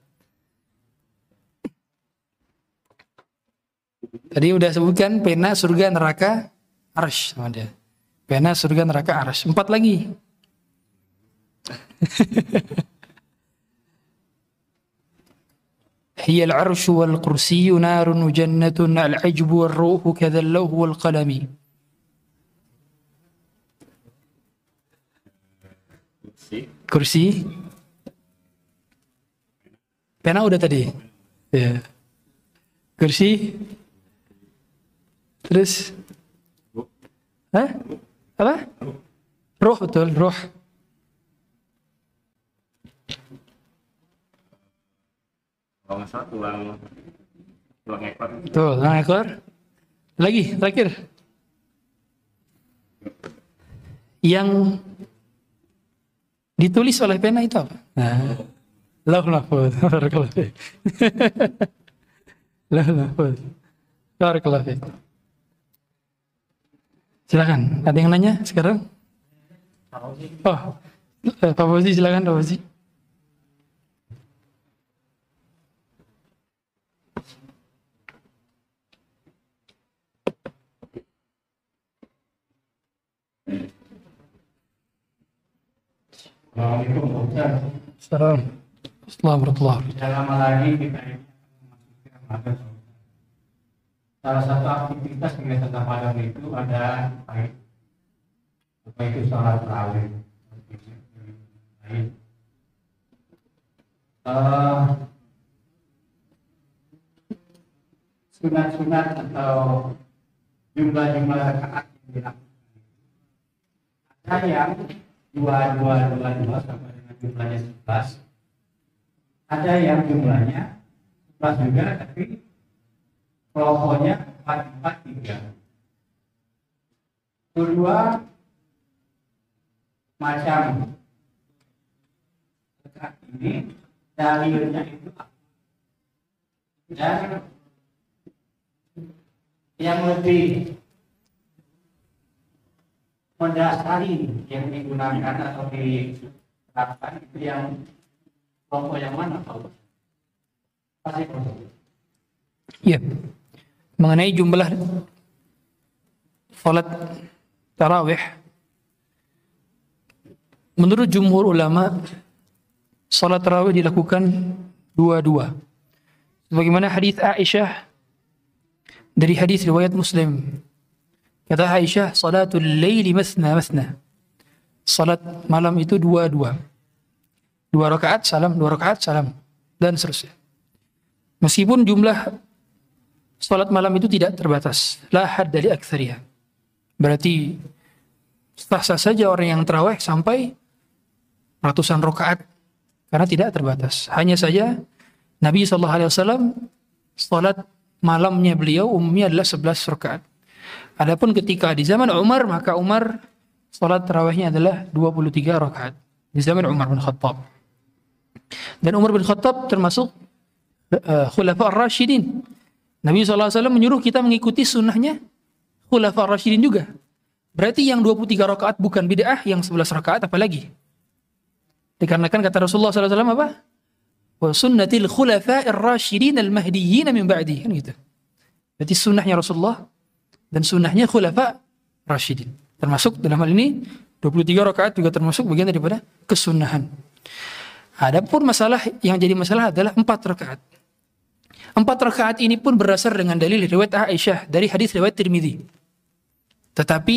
S2: Tadi udah sebutkan pena, surga, neraka, arsy sama dia. Pena, surga, neraka, arsy. 4 lagi. Hiya al-arsy wal kursiyyu narun wa jannatun al-ajbu wal ruhu kadzal lawhu wal qalami. Kursi. Pena udah tadi. Ya. Kursi. Terus apa? Ruh, betul, ruh.
S1: Kalau nggak salah tulang ekor.
S2: Tuh, tulang ekor. Lagi, terakhir. Yang ditulis oleh pena itu apa? Nah, Lauhul Mahfuz. Barakallahu fiik. Lauhul Mahfuz. Barakallahu fiik. Silakan, ada yang nanya sekarang? Oh, Pak Fauzi, silakan Pak Fauzi.
S1: Assalamualaikum Ustaz.
S2: Assalamualaikum warahmatullahi wabarakatuh.
S1: Tidak lama lagi kita ini memasuki Ramadan. Salah satu aktivitas kegiatan Ramadan itu ada apa itu sholat tarawih. Sunat-sunat atau jumlah-jumlah rakaat yang dilakukan. Ada yang 2 sampai dengan jumlahnya 11. Ada yang jumlahnya 11 juga, tapi kelompoknya 4-4-3. Kedua macam rakaat ini dalilnya itu apa? Dan yang lebih mendasari yang digunakan atau diterapkan itu yang kelompok yang mana Pak? Pasti
S2: Ya, mengenai jumlah salat tarawih, menurut jumhur ulama, salat tarawih dilakukan 2-2. Sebagaimana hadis Aisyah dari hadis riwayat Muslim. Kata Aisyah, salatul laili masna masna. Salat malam itu 2-2. 2 rakaat salam, 2 rakaat salam, dan seterusnya. Meskipun jumlah salat malam itu tidak terbatas, la hadda li aktsariha. Berarti sah-sah saja orang yang tarawih sampai ratusan rakaat karena tidak terbatas. Hanya saja Nabi SAW salat malamnya beliau umumnya adalah 11 rakaat. Adapun ketika di zaman Umar, maka Umar salat tarawihnya adalah 23 rakaat di zaman Umar bin Khattab. Dan Umar bin Khattab termasuk Khulafa ar-Rasyidin. Nabi SAW menyuruh kita mengikuti sunnahnya Khulafa ar-Rasyidin juga. Berarti yang 23 rakaat bukan bid'ah, yang 11 rakaat apalagi. Dikarenakan kata Rasulullah SAW apa? Wa sunnatil khulafa ar-Rasyidin al-Mahdiyyin min ba'di. Kan gitu. Berarti sunnahnya Rasulullah dan sunnahnya Khulafa Rasyidin. Termasuk dalam hal ini 23 rakaat juga termasuk bagian daripada kesunahan. Adapun masalah yang jadi masalah adalah 4 rakaat. 4 rakaat ini pun berdasar dengan dalil riwayat Aisyah dari hadis riwayat Tirmidzi. Tetapi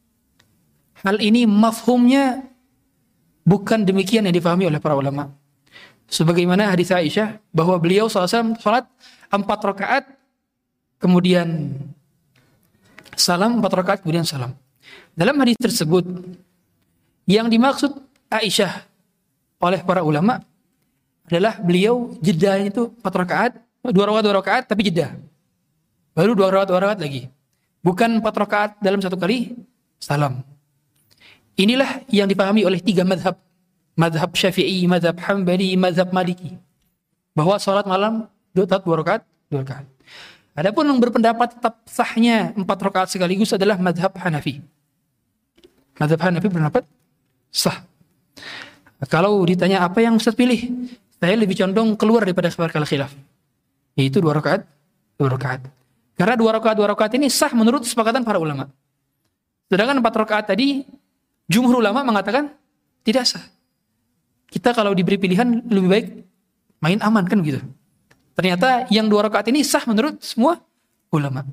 S2: hal ini mafhumnya bukan demikian yang difahami oleh para ulama. Sebagaimana hadis Aisyah bahwa beliau SAW salat 4 rakaat kemudian salam, 4 rakaat kemudian salam. Dalam hadis tersebut yang dimaksud Aisyah oleh para ulama adalah beliau jedanya itu 4 rakaat, 2 rakaat tapi jeda. Baru 2 rakaat lagi. Bukan 4 rakaat dalam satu kali salam. Inilah yang dipahami oleh 3 mazhab. Mazhab Syafi'i, mazhab Hambali, mazhab Maliki. Bahwa salat malam 2 rakaat. Adapun yang berpendapat tetap sahnya 4 rakaat sekaligus adalah mazhab Hanafi. Mazhab Hanafi berpendapat sah. Kalau ditanya apa yang Ustaz pilih, saya lebih condong keluar daripada sepakat khilaf. Yaitu 2 rakaat. Karena 2 rakaat ini sah menurut kesepakatan para ulama. Sedangkan 4 rakaat tadi, jumhur ulama mengatakan tidak sah. Kita kalau diberi pilihan lebih baik main aman kan gitu. Ternyata yang 2 rakaat ini sah menurut semua ulama.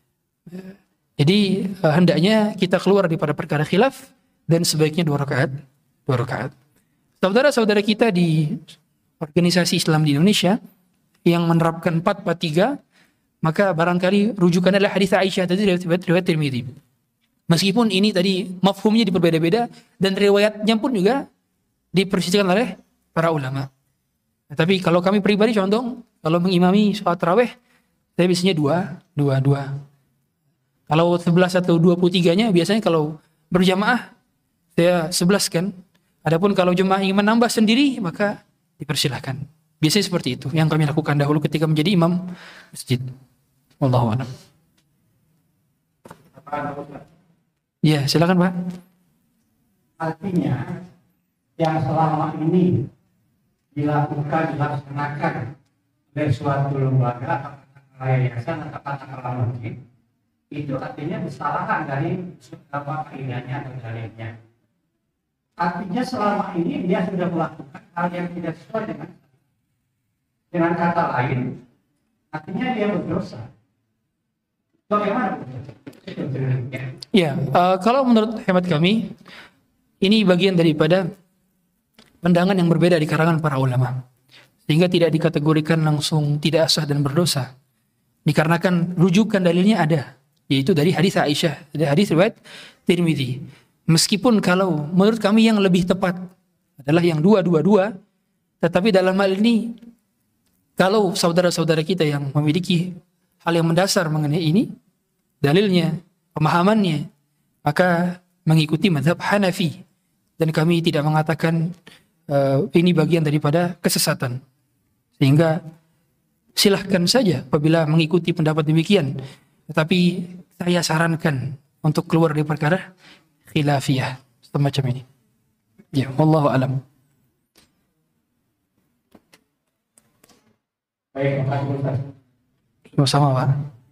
S2: Jadi hendaknya kita keluar daripada perkara khilaf dan sebaiknya 2 rakaat. Saudara-saudara kita di organisasi Islam di Indonesia yang menerapkan 4-4-3, maka barangkali rujukannya adalah hadis Aisyah tadi riwayat Tirmidzi. Meskipun ini tadi mafhumnya diperbeda-beda dan riwayatnya pun juga dipersisikan oleh para ulama. Nah, tapi kalau kami pribadi condong kalau mengimami sholat tarawih saya biasanya 2. Kalau 11 atau 23-nya biasanya kalau berjamaah saya 11 kan. Adapun kalau jemaah ingin menambah sendiri maka dipersilahkan. Biasanya seperti itu yang kami lakukan dahulu ketika menjadi imam masjid. Wallahu a'lam. Ya, silakan Pak.
S1: Artinya yang selama ini dilaksanakan oleh suatu lembaga, yayasan atau katakanlah masjid, itu artinya kesalahan dari kaidahnya atau dalilnya. Artinya selama ini dia sudah melakukan hal yang tidak sesuai dengan kata lain, artinya dia berdosa. Bagaimana?
S2: Ya, kalau menurut hemat kami, ini bagian daripada pandangan yang berbeda di kalangan para ulama. Sehingga tidak dikategorikan langsung tidak sah dan berdosa. Dikarenakan rujukan dalilnya ada, yaitu dari hadis Aisyah, dari hadis riwayat Tirmidzi. Meskipun kalau menurut kami yang lebih tepat adalah yang 222, tetapi dalam hal ini kalau saudara-saudara kita yang memiliki hal yang mendasar mengenai ini, dalilnya, pemahamannya, maka mengikuti mazhab Hanafi. Dan kami tidak mengatakan ini bagian daripada kesesatan. Sehingga silahkan saja apabila mengikuti pendapat demikian. Tetapi saya sarankan untuk keluar dari perkara khilafiyah semacam ini. Ya, wallahu alam.
S1: Baik, Pak Ustaz.
S2: Sama Pak.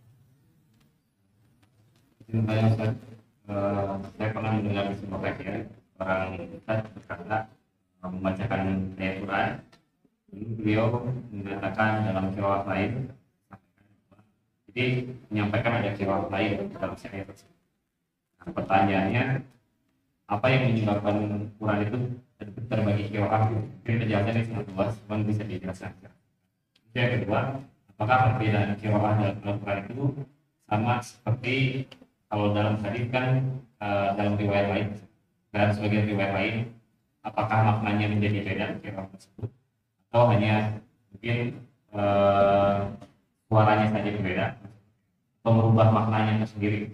S5: Saya pernah mendengar di sebuah kajian orang Ustaz berkata membacakan ayat Quran. Beliau mengatakan dalam qiraat lain, jadi menyampaikan ada qiraat lain dalam ayat tersebut. Nah, pertanyaannya, apa yang menyebabkan Quran itu terbagi qiraat? Mungkin penjelasannya sangat luas, cuma bisa dijelaskan. Yang kedua, apakah perbedaan qiraat dalam Al-Quran itu sama seperti kalau dalam hadis kan dalam riwayat lain, dan sebagian riwayat lain, apakah maknanya menjadi beda qiraat tersebut, atau hanya mungkin suaranya saja berbeda, atau merubah maknanya tersendiri?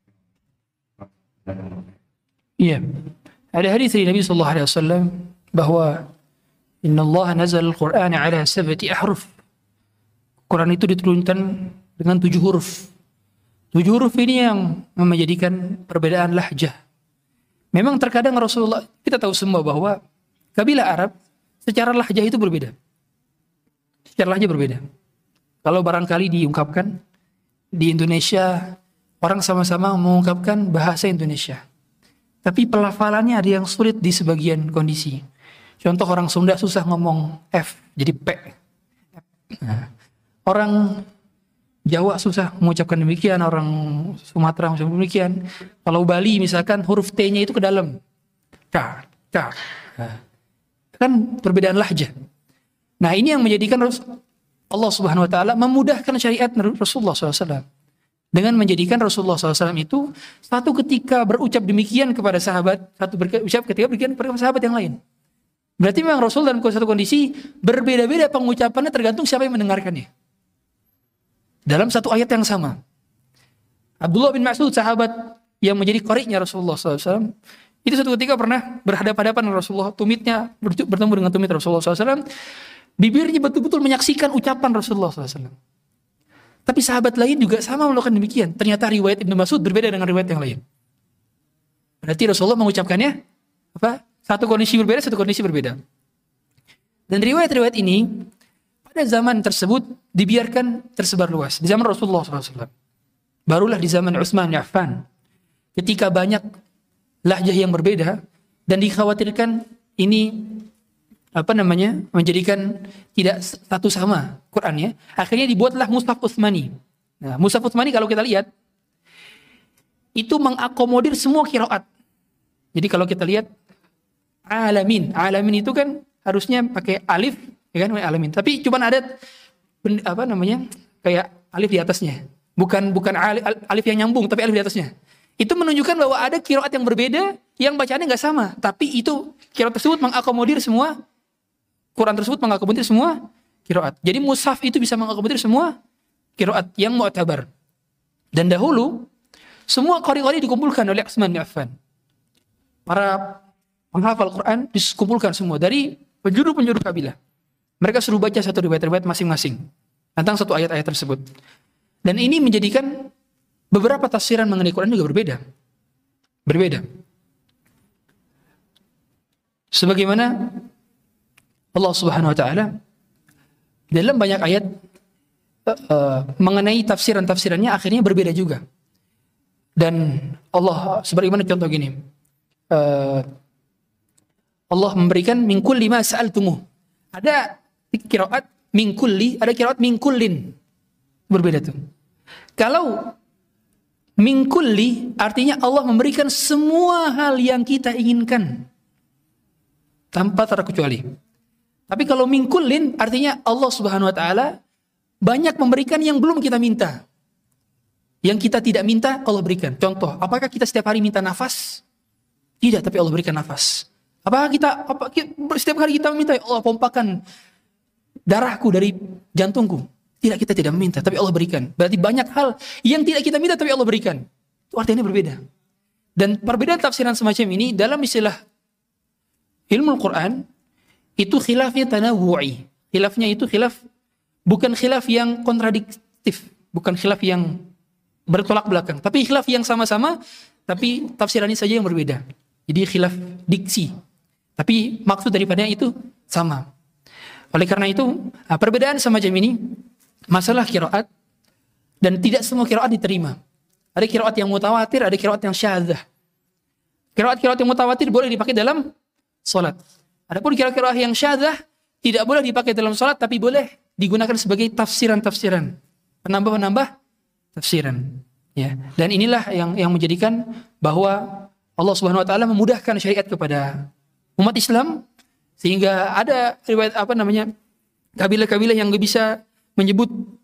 S2: Iya, ada hadis dari Nabi sallallahu alaihi wasallam bahwa Inna Allah nazal al-Quran ala 7 ahruf. Quran itu diturunkan dengan 7 huruf. 7 huruf ini yang menjadikan perbedaan lahjah. Memang terkadang Rasulullah, kita tahu semua bahwa kabilah Arab secara lahjah itu berbeda. Secara lahjah berbeda. Kalau barangkali diungkapkan di Indonesia, orang sama-sama mengungkapkan bahasa Indonesia. Tapi pelafalannya ada yang sulit di sebagian kondisi. Contoh orang Sunda susah ngomong F jadi P. Nah, orang Jawa susah mengucapkan demikian, orang Sumatera mengucapkan demikian. Kalau Bali misalkan huruf T-nya itu ke dalam. K. Nah, kan perbedaan lahjah. Nah, ini yang menjadikan Allah Subhanahu wa taala memudahkan syariat Rasulullah SAW dengan menjadikan Rasulullah SAW itu satu ketika berucap demikian kepada sahabat, satu berucap ketika berikan kepada sahabat yang lain. Berarti memang Rasul dalam satu kondisi berbeda-beda pengucapannya tergantung siapa yang mendengarkannya. Dalam satu ayat yang sama. Abdullah bin Mas'ud, sahabat yang menjadi qari'nya Rasulullah SAW, itu satu ketika pernah berhadapan-hadapan dengan Rasulullah, tumitnya bertemu dengan tumit Rasulullah SAW, bibirnya betul-betul menyaksikan ucapan Rasulullah SAW. Tapi sahabat lain juga sama melakukan demikian. Ternyata riwayat Ibnu Mas'ud berbeda dengan riwayat yang lain. Berarti Rasulullah mengucapkannya apa? Satu kondisi berbeda, satu kondisi berbeda. Dan riwayat-riwayat ini pada zaman tersebut dibiarkan tersebar luas. Di zaman Rasulullah SAW. Barulah di zaman Utsman bin Affan, ketika banyak lahjah yang berbeda dan dikhawatirkan ini menjadikan tidak satu sama Qurannya, akhirnya dibuatlah Mushaf Utsmani. Nah, Mushaf Utsmani kalau kita lihat itu mengakomodir semua qiraat. Jadi kalau kita lihat alamin itu kan harusnya pakai alif, ya kan, alamin. Tapi cuma ada kayak alif di atasnya. Bukan alif yang nyambung, tapi alif di atasnya. Itu menunjukkan bahwa ada qiraat yang berbeda, yang bacaannya nggak sama. Tapi itu qiraat tersebut mengakomodir semua, Quran tersebut mengakomodir semua qiraat. Jadi mushaf itu bisa mengakomodir semua qiraat yang mu'tabar. Dan dahulu, semua qari-qari dikumpulkan oleh Utsman bin Affan. Para penghafal Quran dikumpulkan semua dari penjuru-penjuru kabilah. Mereka suruh baca satu riwayat-riwayat masing-masing tentang satu ayat-ayat tersebut. Dan ini menjadikan beberapa tafsiran mengenai Quran juga berbeda. Sebagaimana Allah Subhanahu wa taala dalam banyak ayat mengenai tafsirannya akhirnya berbeda juga. Dan Allah sebagaimana contoh gini. Allah memberikan min kulli ma sa'altumuh. Ada qiraat min kulli, ada qiraat min kullin. Berbeda tuh. Kalau min kulli artinya Allah memberikan semua hal yang kita inginkan tanpa terkecuali. Tapi kalau min kullin artinya Allah Subhanahu wa taala banyak memberikan yang belum kita minta. Yang kita tidak minta Allah berikan. Contoh, apakah kita setiap hari minta nafas? Tidak, tapi Allah berikan nafas. Apakah setiap hari kita meminta, ya Allah pompakan darahku dari jantungku? Tidak, kita tidak meminta, tapi Allah berikan. Berarti banyak hal yang tidak kita minta, tapi Allah berikan. Itu artinya berbeda. Dan perbedaan tafsiran semacam ini dalam istilah ilmu Al-Quran, itu khilafnya tanawu'i. Khilafnya itu bukan khilaf yang kontradiktif. Bukan khilaf yang bertolak belakang. Tapi khilaf yang sama-sama, tapi tafsirannya saja yang berbeda. Jadi khilaf diksi. Tapi maksud daripadanya itu sama. Oleh karena itu, perbedaan semacam ini, masalah qiraat, dan tidak semua qiraat diterima. Ada qiraat yang mutawatir, ada qiraat yang syadzah. Qiraat yang mutawatir boleh dipakai dalam salat. Adapun qiraat yang syadzah tidak boleh dipakai dalam salat, tapi boleh digunakan sebagai tafsiran-tafsiran, penambah-penambah tafsiran. Ya. Dan inilah yang menjadikan bahwa Allah Subhanahu wa taala memudahkan syariat kepada umat Islam, sehingga ada riwayat kabilah-kabilah yang enggak bisa menyebut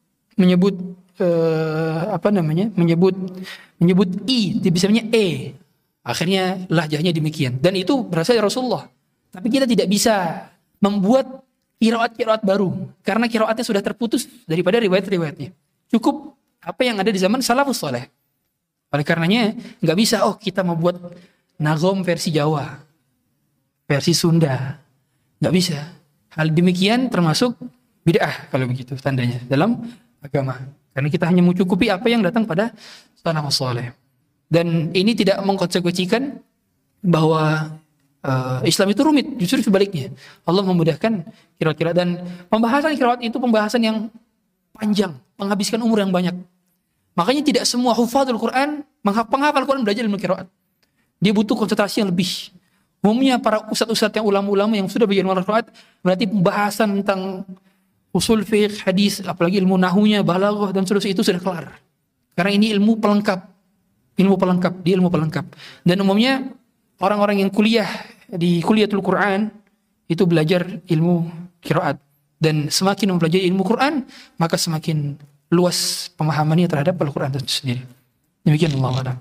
S2: i, bisa e. Akhirnya lahjahnya demikian. Dan itu berasal dari Rasulullah. Tapi kita tidak bisa membuat qiraat baru karena qiraatnya sudah terputus daripada riwayat-riwayatnya. Cukup apa yang ada di zaman salafus saleh. Oleh karenanya enggak bisa kita membuat nagom versi Jawa, versi Sunda. Enggak bisa. Hal demikian termasuk bid'ah kalau begitu tandanya dalam agama. Karena kita hanya mencukupi apa yang datang pada salafus saleh. Dan ini tidak mengkonsekuensikan bahwa Islam itu rumit, justru sebaliknya. Allah memudahkan qiraat-qiraat, dan pembahasan qiraat itu pembahasan yang panjang, menghabiskan umur yang banyak. Makanya tidak semua hufadzul Quran, penghafal Quran belajar ilmu qiraat. Dia butuh konsentrasi yang lebih. Umumnya para ustadz-ustadz yang ulama-ulama yang sudah belajar ilmu qiraat, berarti pembahasan tentang usul fiqh, hadis, apalagi ilmu nahunya, balaghah dan seterusnya itu sudah kelar. Karena ini ilmu pelengkap. Dia ilmu pelengkap. Dan umumnya orang-orang yang kuliah di Kuliatul Quran itu belajar ilmu qiraat. dan semakin mempelajari ilmu Quran, maka semakin luas pemahamannya terhadap Al-Quran itu sendiri. Demikian Allah a'lam.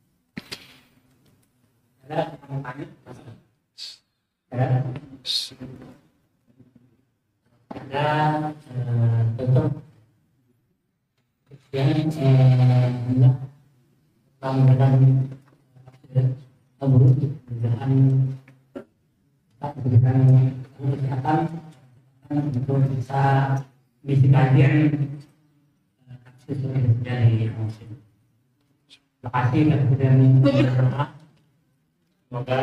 S1: Ada yang tanya? Ada contoh yang hendak melakukan abu dengan kesehatan untuk bisa kajian sesuai dari musim. Terima kasih dan berdoa semoga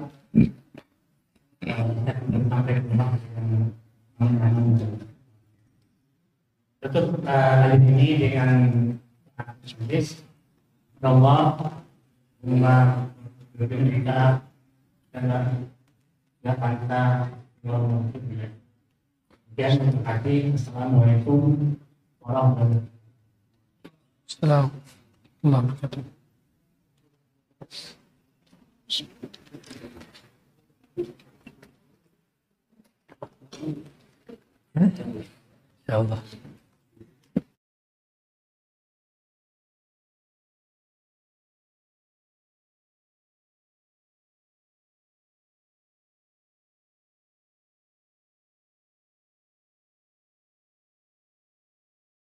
S1: sampai ke rumah tutup kali ini dengan hadis Allah kita dan ya pantas Kemudian terima kasih. Assalamualaikum warahmatullahi wabarakatuh.
S2: Assalamualaikum warahmatullahi wabarakatuh. Insyaallah.